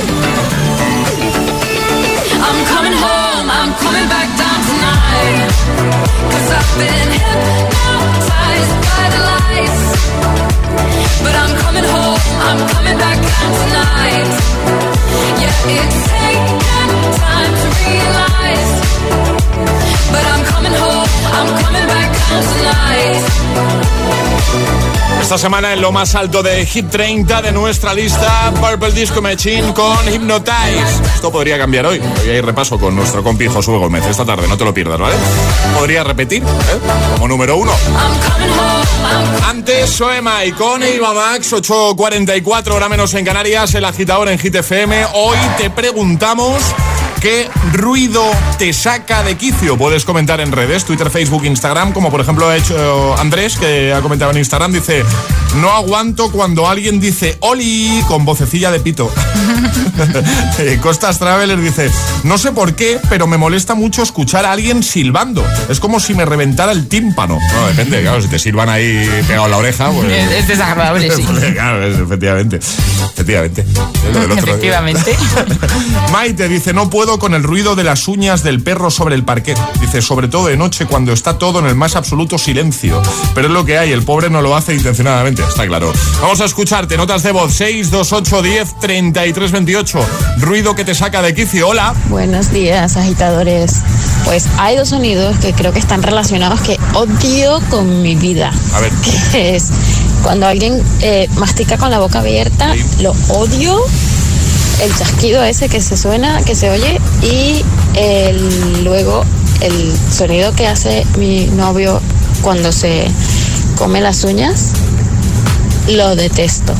I'm coming home, I'm coming back down tonight. 'Cause I've been hypnotized by the lights, but I'm coming home, I'm coming back down tonight. Yeah, it's taken time to realize, but I'm coming home, I'm coming back down tonight. Esta semana en lo más alto de Hit treinta de nuestra lista, Purple Disco Machine con Hypnotize. Esto podría cambiar hoy. Hoy hay repaso con nuestro compi Josué Gómez esta tarde, no te lo pierdas, ¿vale? Podría repetir, ¿eh? Como número uno. Antes Soema y con Eva Max, ocho cuarenta y cuatro, hora menos en Canarias, el agitador en Hit F M. Hoy te preguntamos: ¿qué ruido te saca de quicio? Puedes comentar en redes, Twitter, Facebook, Instagram, como por ejemplo ha hecho Andrés, que ha comentado en Instagram. Dice: no aguanto cuando alguien dice Oli con vocecilla de pito. Costas Traveler dice: no sé por qué, pero me molesta mucho escuchar a alguien silbando. Es como si me reventara el tímpano. No, depende, claro, si te silban ahí pegado a la oreja, pues... Es desagradable, sí. Claro, es, efectivamente. Efectivamente. Efectivamente. Maite dice: no puedo con el ruido de las uñas del perro sobre el parquet. Dice: sobre todo de noche cuando está todo en el más absoluto silencio. Pero es lo que hay, el pobre no lo hace intencionadamente, está claro. Vamos a escucharte, notas de voz seis dos ocho diez treinta y tres veintiocho. Ruido que te saca de quicio. Hola. Buenos días, agitadores. Pues hay dos sonidos que creo que están relacionados que odio con mi vida. A ver. Que es cuando alguien eh, mastica con la boca abierta, sí. Lo odio. El chasquido ese que se suena, que se oye, y el, luego el sonido que hace mi novio cuando se come las uñas, lo detesto.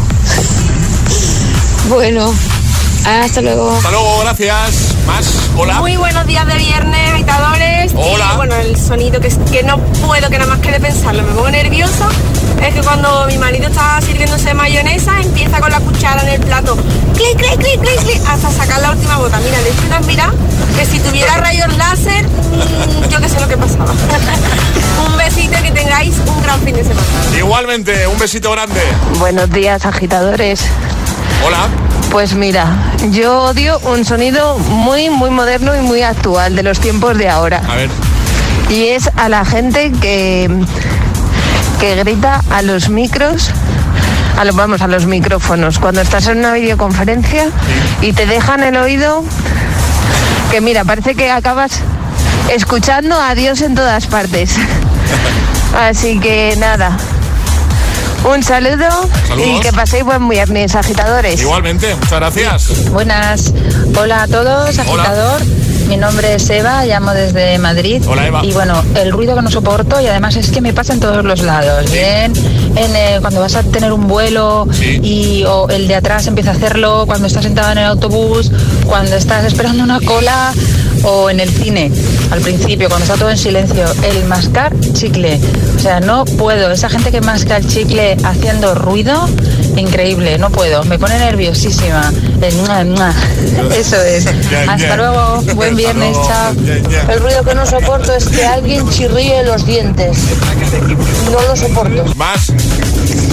Bueno, hasta luego. Hasta luego, gracias. Más, hola. Muy buenos días de viernes, agitadores. Hola. Y bueno, el sonido que, que no puedo, que nada más que de pensarlo me pongo nerviosa, es que cuando mi marido está sirviéndose mayonesa, empieza con la cuchara en el plato, clic, clic, clic, clic, clic, hasta sacar la última bota. Mira, le estoy unas miradas que si tuviera rayos láser, mmm, yo qué sé lo que pasaba. Un besito y que tengáis un gran fin de semana. Igualmente, un besito grande. Buenos días, agitadores. Hola. Pues mira, yo odio un sonido muy, muy moderno y muy actual de los tiempos de ahora. A ver. Y es a la gente que, que grita a los micros, a los, vamos, a los micrófonos, cuando estás en una videoconferencia, sí. Y te dejan el oído, que mira, parece que acabas escuchando a Dios en todas partes. Así que nada. Un saludo. Saludos. Y que paséis buen viernes, agitadores. Igualmente, muchas gracias. Buenas. Hola a todos, agitador. Hola. Mi nombre es Eva, llamo desde Madrid. Hola, Eva. Y bueno, el ruido que no soporto, y además es que me pasa en todos los lados. Sí. Bien, en, eh, cuando vas a tener un vuelo, sí. Y o el de atrás empieza a hacerlo, cuando estás sentado en el autobús, cuando estás esperando una cola, o en el cine, al principio, cuando está todo en silencio. El mascar chicle, o sea, no puedo. Esa gente que masca el chicle haciendo ruido, increíble, no puedo, me pone nerviosísima. El mua, mua. Eso es. Hasta luego, buen viernes, chao. El ruido que no soporto es que alguien chirríe los dientes. No lo soporto. Más.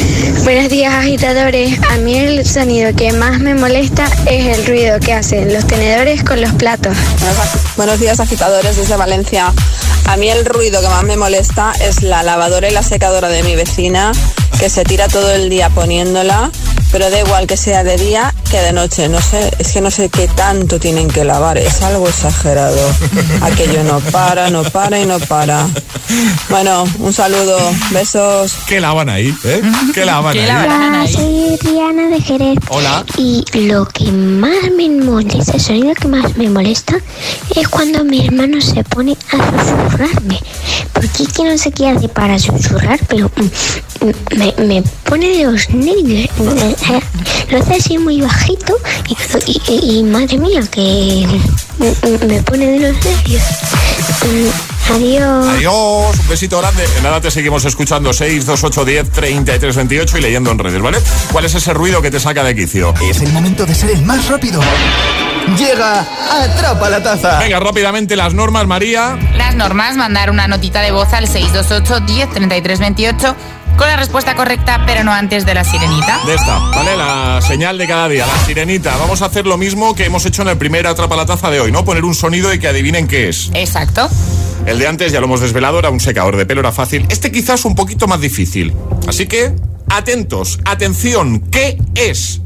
Buenos días, agitadores. A mí el sonido que más me molesta es el ruido que hacen los tenedores con los platos. Buenos días, agitadores, desde Valencia. A mí el ruido que más me molesta es la lavadora y la secadora de mi vecina, que se tira todo el día poniéndola, pero da igual que sea de día que de noche. No sé, es que no sé qué tanto tienen que lavar, es algo exagerado. Aquello no para, no para y no para. Bueno, un saludo, besos. ¿Qué lavan ahí? ¿Eh? ¿Qué lavan ¿Qué ahí? lavan ahí? Soy Rihanna de Jerez. Hola. Y lo que más me molesta, el sonido que más me molesta es cuando mi hermano se pone a susurrarme. Porque es que no sé qué hace para susurrar, pero me, me pone de los nervios. Lo hace así muy bajito y, y, y madre mía, que me pone de los nervios. Adiós. Adiós, un besito grande. En nada te seguimos escuchando. Seis dos ocho diez treinta y tres veintiocho y leyendo en redes, ¿vale? ¿Cuál es ese ruido que te saca de quicio? Es el momento de ser el más rápido. Llega Atrapa la Taza. Venga, rápidamente las normas, María. Las normas, mandar una notita de voz al seis dos ocho diez treinta y tres veintiocho con la respuesta correcta, pero no antes de la sirenita. De esta, ¿vale? La señal de cada día, la sirenita. Vamos a hacer lo mismo que hemos hecho en el primer Atrapa la Taza de hoy, ¿no? Poner un sonido y que adivinen qué es. Exacto. El de antes, ya lo hemos desvelado, era un secador de pelo, era fácil. Este quizás un poquito más difícil. Así que, atentos, atención, ¿qué es?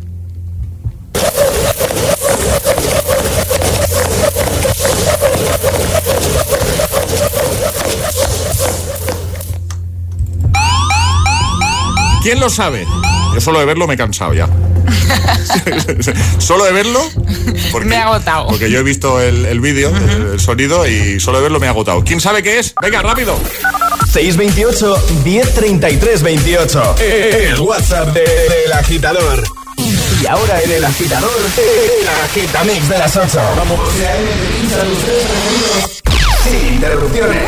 ¿Quién lo sabe? Yo solo de verlo me he cansado ya. Solo de verlo porque, me ha agotado. Porque yo he visto el, el vídeo, uh-huh. el, el sonido, y solo de verlo me ha agotado. ¿Quién sabe qué es? Venga, rápido. seis veintiocho diez treinta y tres veintiocho. El WhatsApp de, de El Agitador. Y ahora en El Agitador, el Agitamix de las ocho. Vamos. Sin interrupciones.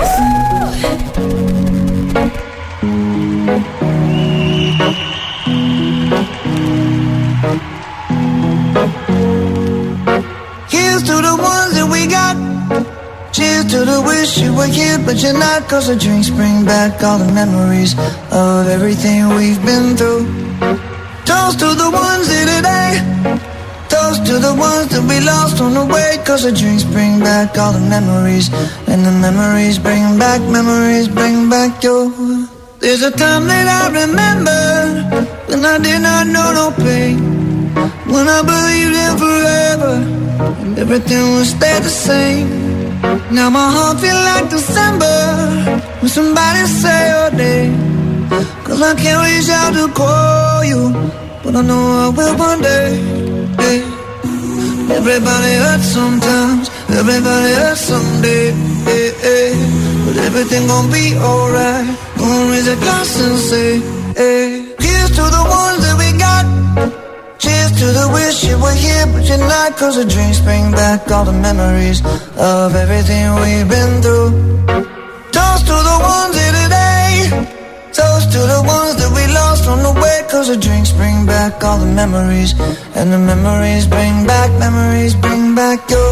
Here's to the ones that we got. Cheers to the wish you were here, but you're not. Cause the drinks bring back all the memories of everything we've been through. Toast to the ones here today. Toast to the ones that we lost on the way. Cause the drinks bring back all the memories. And the memories bring back, memories bring back your. There's a time that I remember when I did not know no pain, when I believed in forever and everything would stay the same. Now my heart feel like December when somebody say your name. Cause I can't reach out to call you, but I know I will one day. Hey. Everybody hurts sometimes, everybody hurts someday. Hey, hey. But everything gon' be alright. Gonna raise a glass and say, hey. Here's to the ones that we got. Cheers to the wish you were here, but you're not. Cause the drinks bring back all the memories of everything we've been through. Toast to the ones here today. Toast to the ones that we lost on the way. Cause the drinks bring back all the memories. And the memories bring back, memories bring back your.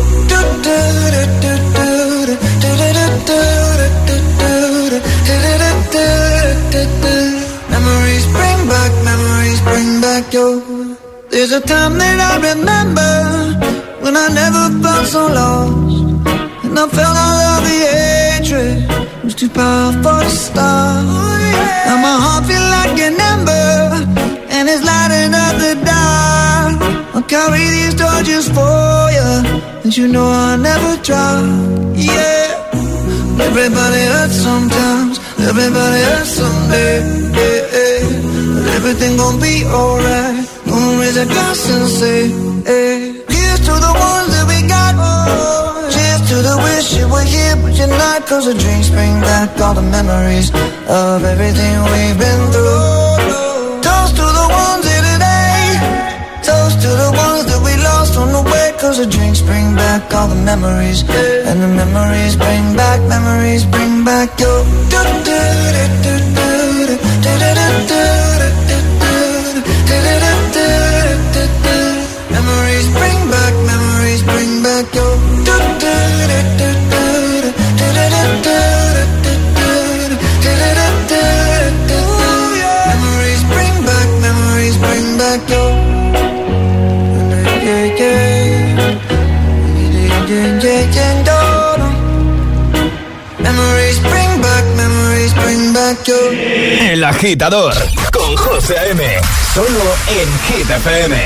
Memories bring back, memories bring back your. There's a time that I remember when I never felt so lost, and I felt all of the hatred was too powerful to stop. Now my heart feel like an ember, and it's lighting up the dark. I'll carry these torches for you, and you know I'll never drop. Yeah. Everybody hurts sometimes, everybody hurts someday. Yeah, yeah. But everything gon' be alright. Gonna raise a glass and say, hey. Here's to the ones that we got. Oh, cheers to the wish you were here, but you're not. Cause the drinks bring back all the memories of everything we've been through. Toast to the ones here today. Toast to the ones that we lost on the way. Cause the drinks bring back all the memories. And the memories bring back, memories bring back your. Memories bring back, memories bring back your. Memories bring El Agitador con José A.M. Solo en Hit F M.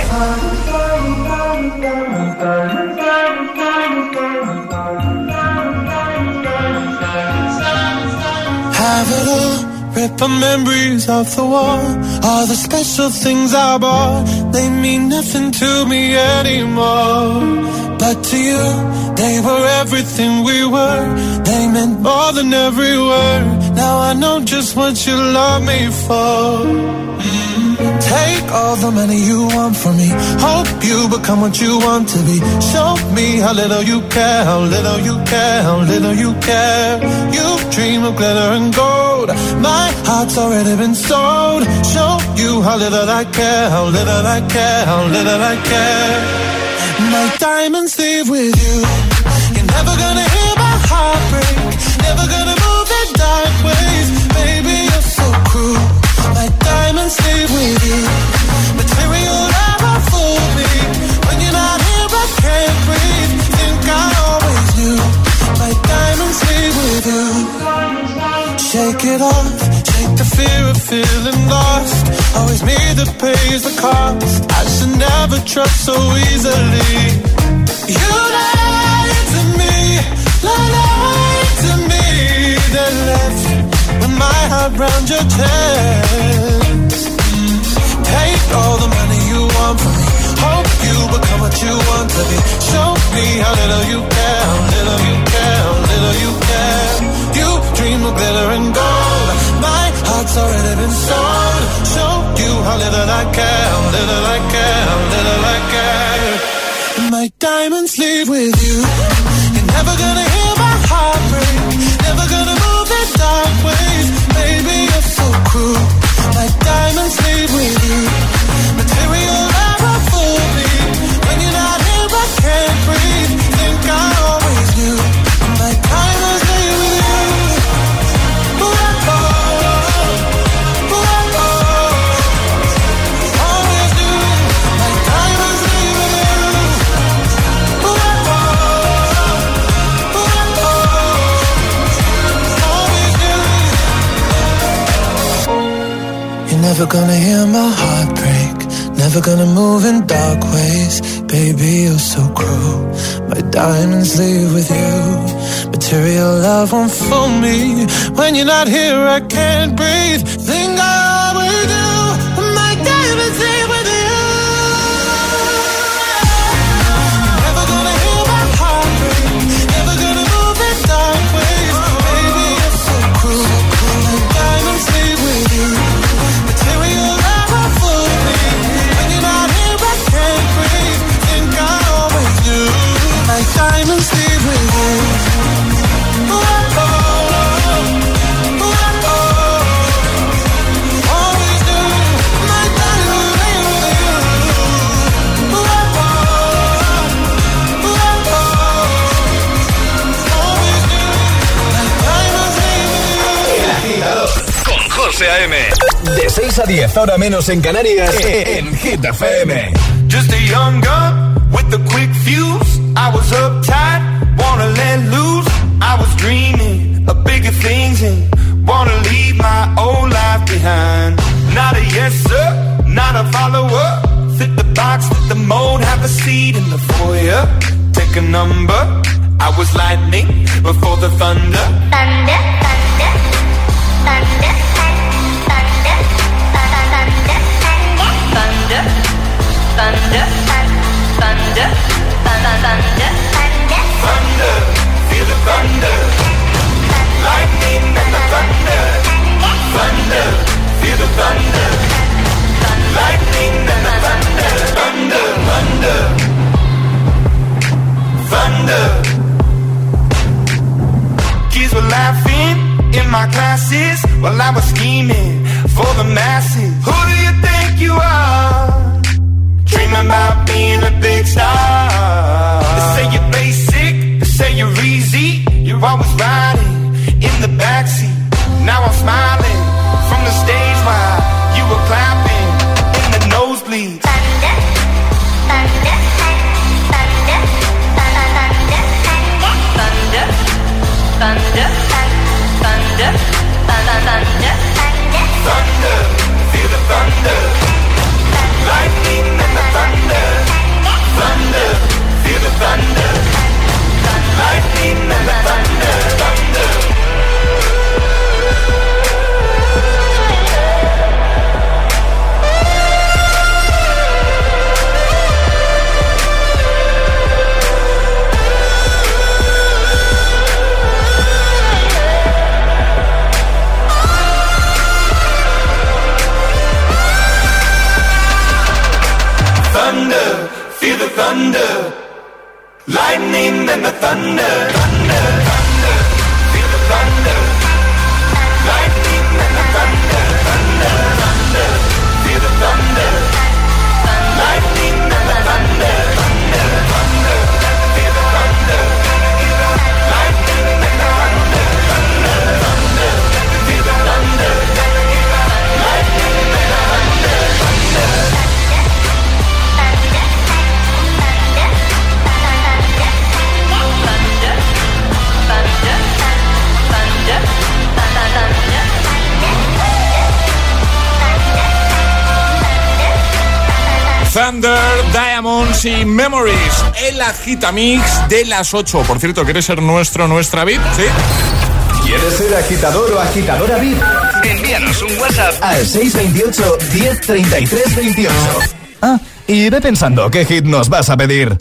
Have it all, rip the memories off the wall. All the special things I bought, they mean nothing to me anymore. But to you, they were everything we were. They meant more than every word. Now I know just what you love me for. Mm-hmm. Take all the money you want from me. Hope you become what you want to be. Show me how little you care, how little you care, how little you care. You dream of glitter and gold. My heart's already been sold. Show you how little I care, how little I care, how little I care. My diamonds leave with you. You're never gonna hear my heart break. Never gonna move in dark ways. Baby, you're so cruel. My diamonds leave with you. Material never fooled me. When you're not here, I can't breathe. Think I always knew. My diamonds leave with you. Shake it off. Shake the fear of feeling lost. Always me that pays the cost. I should never trust so easily. You lied to me, lied to me. Then left with my heart round your chest. Take all the money you want from me. Hope you become what you want to be. Show me how little you care, how little you care, how little you care. You dream of glitter and gold. My heart's already been sold. Show you how little I care, how little I care, how little I care. My diamonds leave with you. You're never gonna hear my heart break. Never gonna move in dark ways. Baby, you're so cruel. My diamonds leave with you. Material never fooled me. When you're not here, I can't breathe. Think I always knew. My diamonds leave with you. Ooh, oh, ooh, oh, always knew. My diamonds leave with you. Ooh, oh, ooh, always knew. You're never gonna hear my heart break. Never gonna move in dark ways. Baby, you're so cruel. My diamonds leave with you. Material love won't fool me. When you're not here, I can't breathe. Think I always do. My diamonds leave with you. Never gonna hear my heart break. Never gonna move in dark ways. Baby, you're so cruel. My diamonds leave with you. Material love won't fool me. When you're not here, I can't breathe. Think I always knew. My diamonds leave with you. Ooh, oh, ooh, oh, always knew. My diamonds leave with you. Ooh, oh, ooh, always knew. My diamonds leave with you. El Agitador con José A M. De seis a diez, ahora menos en Canarias, en Hit F M. Just a young gun with a quick fuse. I was uptight, wanna let loose. I was dreaming of bigger things and wanna leave my old life behind. Not a yes sir, not a follower. Fit the box, fit the mold, have a seat in the foyer. Take a number. I was lightning before the thunder. Thunder, thunder, thunder, thunder, thunder, thunder, thunder, thunder, thunder, thunder, thunder, feel the thunder, lightning and the thunder, thunder, feel the thunder, lightning and the thunder, thunder, thunder, thunder. Kids were laughing in my classes while I was scheming for the masses. Who do you think you are? Dreaming about being a big star. They say you're basic, they say you're easy. You're always riding in the backseat. Now I'm smiling from the stage while you were clapping in the nosebleeds. thunder, thunder, thunder, thunder, thunder, thunder, thunder, thunder, thunder, thunder, thunder, lightning and the thunder, thunder, thunder, feel the thunder, lightning and the thunder, thunder, thunder, feel the thunder, lightning and the thunder, thunder, thunder, feel the thunder, lightning and the thunder, thunder, thunder, feel the thunder, lightning and the thunder, thunder. Thunder, Diamonds y Memories, el agitamix de las ocho. Por cierto, ¿quieres ser nuestro, nuestra V I P? ¿Sí? ¿Quieres ser agitador o agitadora V I P? Envíanos un WhatsApp al seis veintiocho, diez treinta y tres veintiocho. Ah, y ve pensando qué hit nos vas a pedir.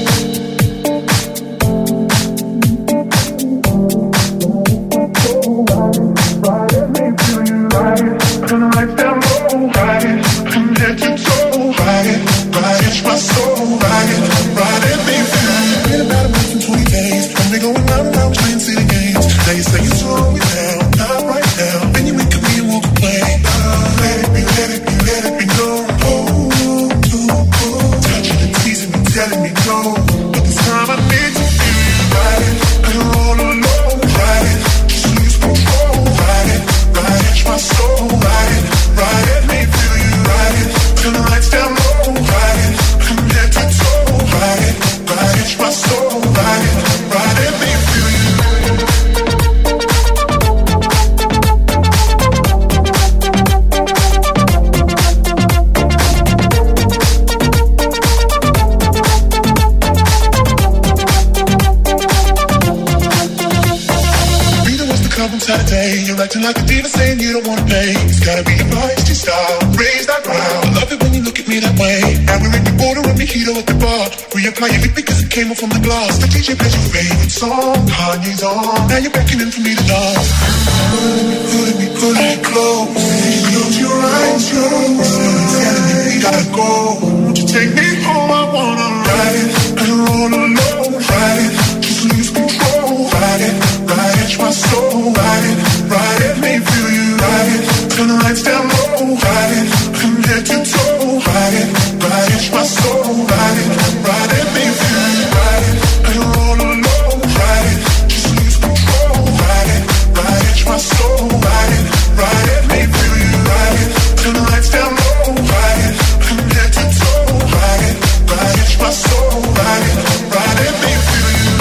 Acting like a diva saying you don't wanna pay. It's gotta be your feisty style. Raise that ground. I love it when you look at me that way. And we're in the border and mojito at the bar. Reapply it because it came off from the glass. The D J plays your favorite song. Kanye's on. Now you're beckoning for me to dance. Pulling me, pulling me, pulling me close. Close your eyes, close. Telling me we gotta go. Won't you take me home? I wanna ride it. I don't wanna alone. Ride it. Just lose control. Ride it. Ride it. My soul. Ride it. Ride it, make me feel you, ride it. Turn the lights down low, ride it. From head to toe, ride it. Ride it, my soul, ride it. Ride it, make me feel you, ride it. I don't roll alone, ride it. Just lose control, ride it. Ride it, my soul, ride it. Ride it, make me feel you, ride it. Turn the lights down low, ride it. From head to toe, ride it. Ride it, my soul, ride it. Ride it, make me feel you.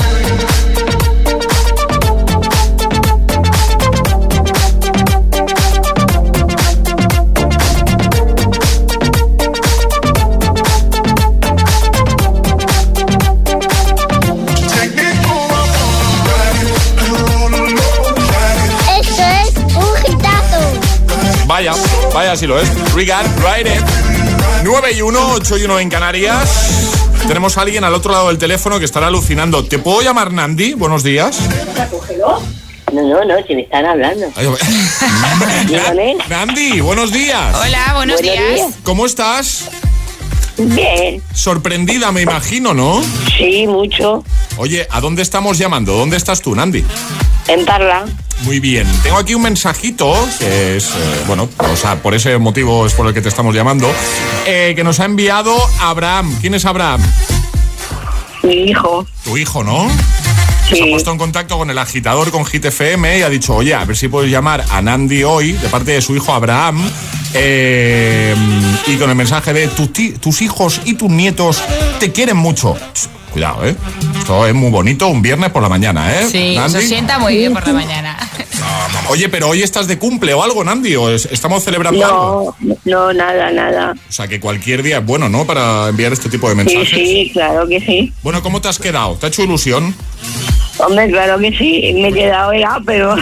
Vaya, vaya si lo es. Regard, Ride It. nueve y uno, ocho y uno en Canarias. Tenemos a alguien al otro lado del teléfono que estará alucinando. ¿Te puedo llamar Nandi? Buenos días. No, no, no, si me están hablando. Dígame. Nandi, buenos días. Hola, buenos, buenos días. días. ¿Cómo estás? Bien. Sorprendida, me imagino, ¿no? Sí, mucho. Oye, ¿a dónde estamos llamando? ¿Dónde estás tú, Nandi? En Parla. Muy bien. Tengo aquí un mensajito, que es, eh, bueno, o sea, por ese motivo es por el que te estamos llamando, eh, que nos ha enviado Abraham. ¿Quién es Abraham? Mi hijo. Tu hijo, ¿no? Sí. Se ha puesto en contacto con el agitador, con Hit F M, y ha dicho, oye, a ver si puedes llamar a Nandi hoy, de parte de su hijo Abraham, eh, y con el mensaje de tu ti, tus hijos y tus nietos te quieren mucho. Cuidado, ¿eh? Esto es muy bonito, un viernes por la mañana, ¿eh? Sí, Nandi. se sienta muy bien por la mañana. Oye, pero hoy estás de cumple o algo, Nandi, o es, estamos celebrando no, algo. No, nada, nada. O sea, que cualquier día es bueno, ¿no? Para enviar este tipo de mensajes. Sí, sí, claro que sí. Bueno, ¿cómo te has quedado? ¿Te ha hecho ilusión? Hombre, claro que sí. Me he quedado ya, pero...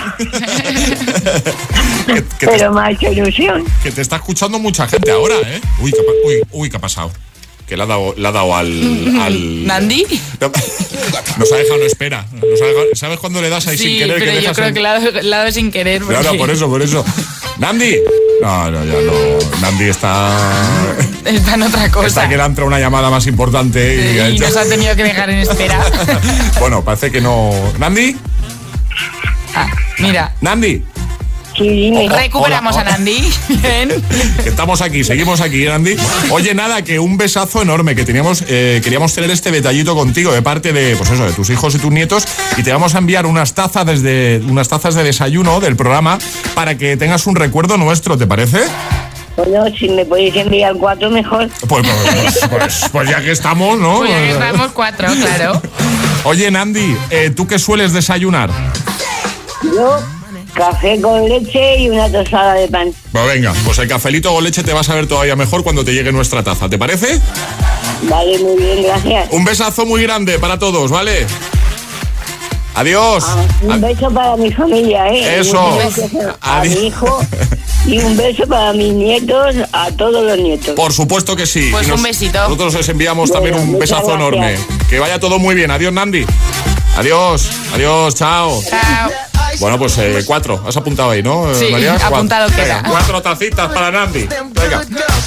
que, que pero te, me ha hecho ilusión. Que te está escuchando mucha gente ahora, ¿eh? Uy, ¿qué, uy, uy, ¿qué ha pasado? Que le ha dado, le ha dado al, al... ¿Nandi? Nos ha dejado en espera. Nos ha dejado, ¿sabes cuando le das ahí sí, sin querer? Pero que yo creo en... que le ha dado, le ha dado sin querer. Porque... Claro, por eso, por eso. Nandi. No, no, ya no. Nandi está... Está en otra cosa. Está que le ha entrado una llamada más importante. Y, y ha hecho... nos ha tenido que dejar en espera. Bueno, parece que no... ¿Nandi? Ah, mira. ¿Nandi? Sí, recuperamos hola, hola. a Nandi. Bien. Estamos aquí, seguimos aquí, Nandi. Oye, nada, que un besazo enorme, que teníamos, eh, queríamos tener este detallito contigo de parte de, pues eso, de tus hijos y tus nietos, y te vamos a enviar unas tazas desde, unas tazas de desayuno del programa para que tengas un recuerdo nuestro, ¿te parece? Bueno, si me podéis enviar cuatro, mejor. Pues, pues, pues, pues ya que estamos, ¿no? Pues ya que estamos cuatro, claro. Oye, Nandi, eh, ¿tú qué sueles desayunar? Yo... café con leche y una tostada de pan. Pues venga, pues el cafelito con leche te vas a ver todavía mejor cuando te llegue nuestra taza, ¿te parece? Vale, muy bien, gracias. Un besazo muy grande para todos, ¿vale? Adiós. Ah, un beso para mi familia, ¿eh? Eso. Un beso a mi hijo y un beso para mis nietos, a todos los nietos. Por supuesto que sí. Pues nos, un besito. Nosotros les enviamos bueno, también un besazo gracias. enorme. Que vaya todo muy bien. Adiós, Nandi. Adiós. Adiós, chao. Chao. Bueno, pues eh, cuatro. Has apuntado ahí, ¿no, sí, María? apuntado Venga, queda. Cuatro tacitas para Nandi. Venga.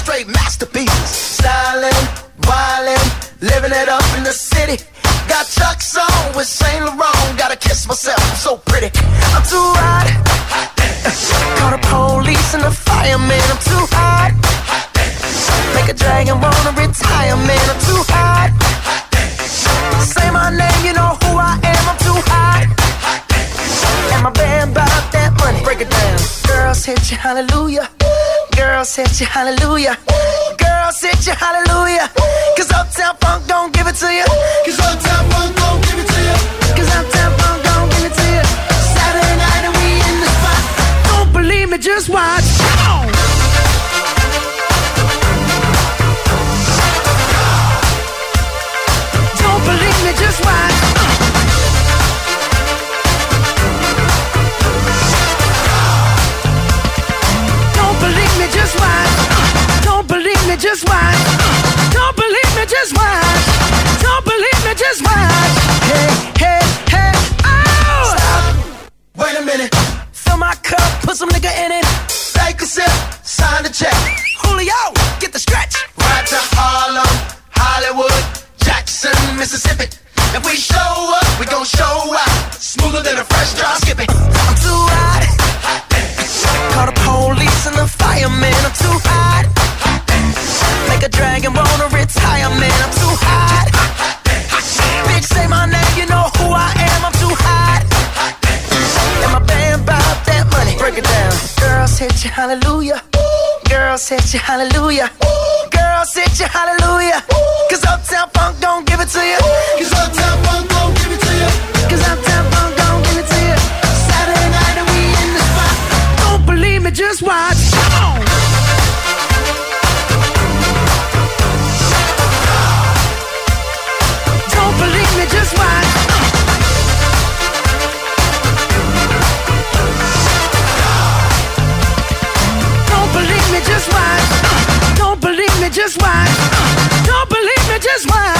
Living it up in the city. Got Chuck's on with Saint Laurent. Gotta kiss myself, I'm so pretty. I'm too hot. Call the police and the fireman. I'm too hot. Make a dragon wanna retire, man. I'm too hot. Say my name, you know who I am. I'm too hot. And my band bought that money. Break it down. Girls hit you, hallelujah. Girls hit you, hallelujah. Girls hit you, hallelujah. Cause Uptown Funk don't give it to you. Cause Uptown Funk don't give it to you. Cause Uptown Funk don't give it to you. Saturday night and we in the spot. Don't believe me, just watch. Come on. Don't believe me, just watch. Don't believe me, just watch. Don't believe me, just watch. Don't believe me, just watch. Don't believe me, just watch. Hey, hey, hey, oh! Stop. Wait a minute. Fill my cup, put some nigga in it. Take a sip, sign the check. Julio, get the stretch. Right to Harlem, Hollywood, Jackson, Mississippi. If we show up, we gon' show out. Smoother than a fresh drop skipping. I'm too hot. Call the police and the fireman. I'm too hot. Make a dragon wanna retire, man. I'm too hot. Bitch, say my name, you know who I am. I'm too hot. And my band bought that money. Break it down. Girls hit you, hallelujah. Girls hit you, hallelujah. Girls hit you, hallelujah. Cause Uptown Funk don't give it to you. Cause Uptown Funk don't give it to you. Cause Uptown Funk don't give it to you. Saturday night and we in the spot. Don't believe me, just watch. Come on. Don't believe me, just watch. Don't believe me, just watch. Don't believe me, just watch. Don't believe me, just watch.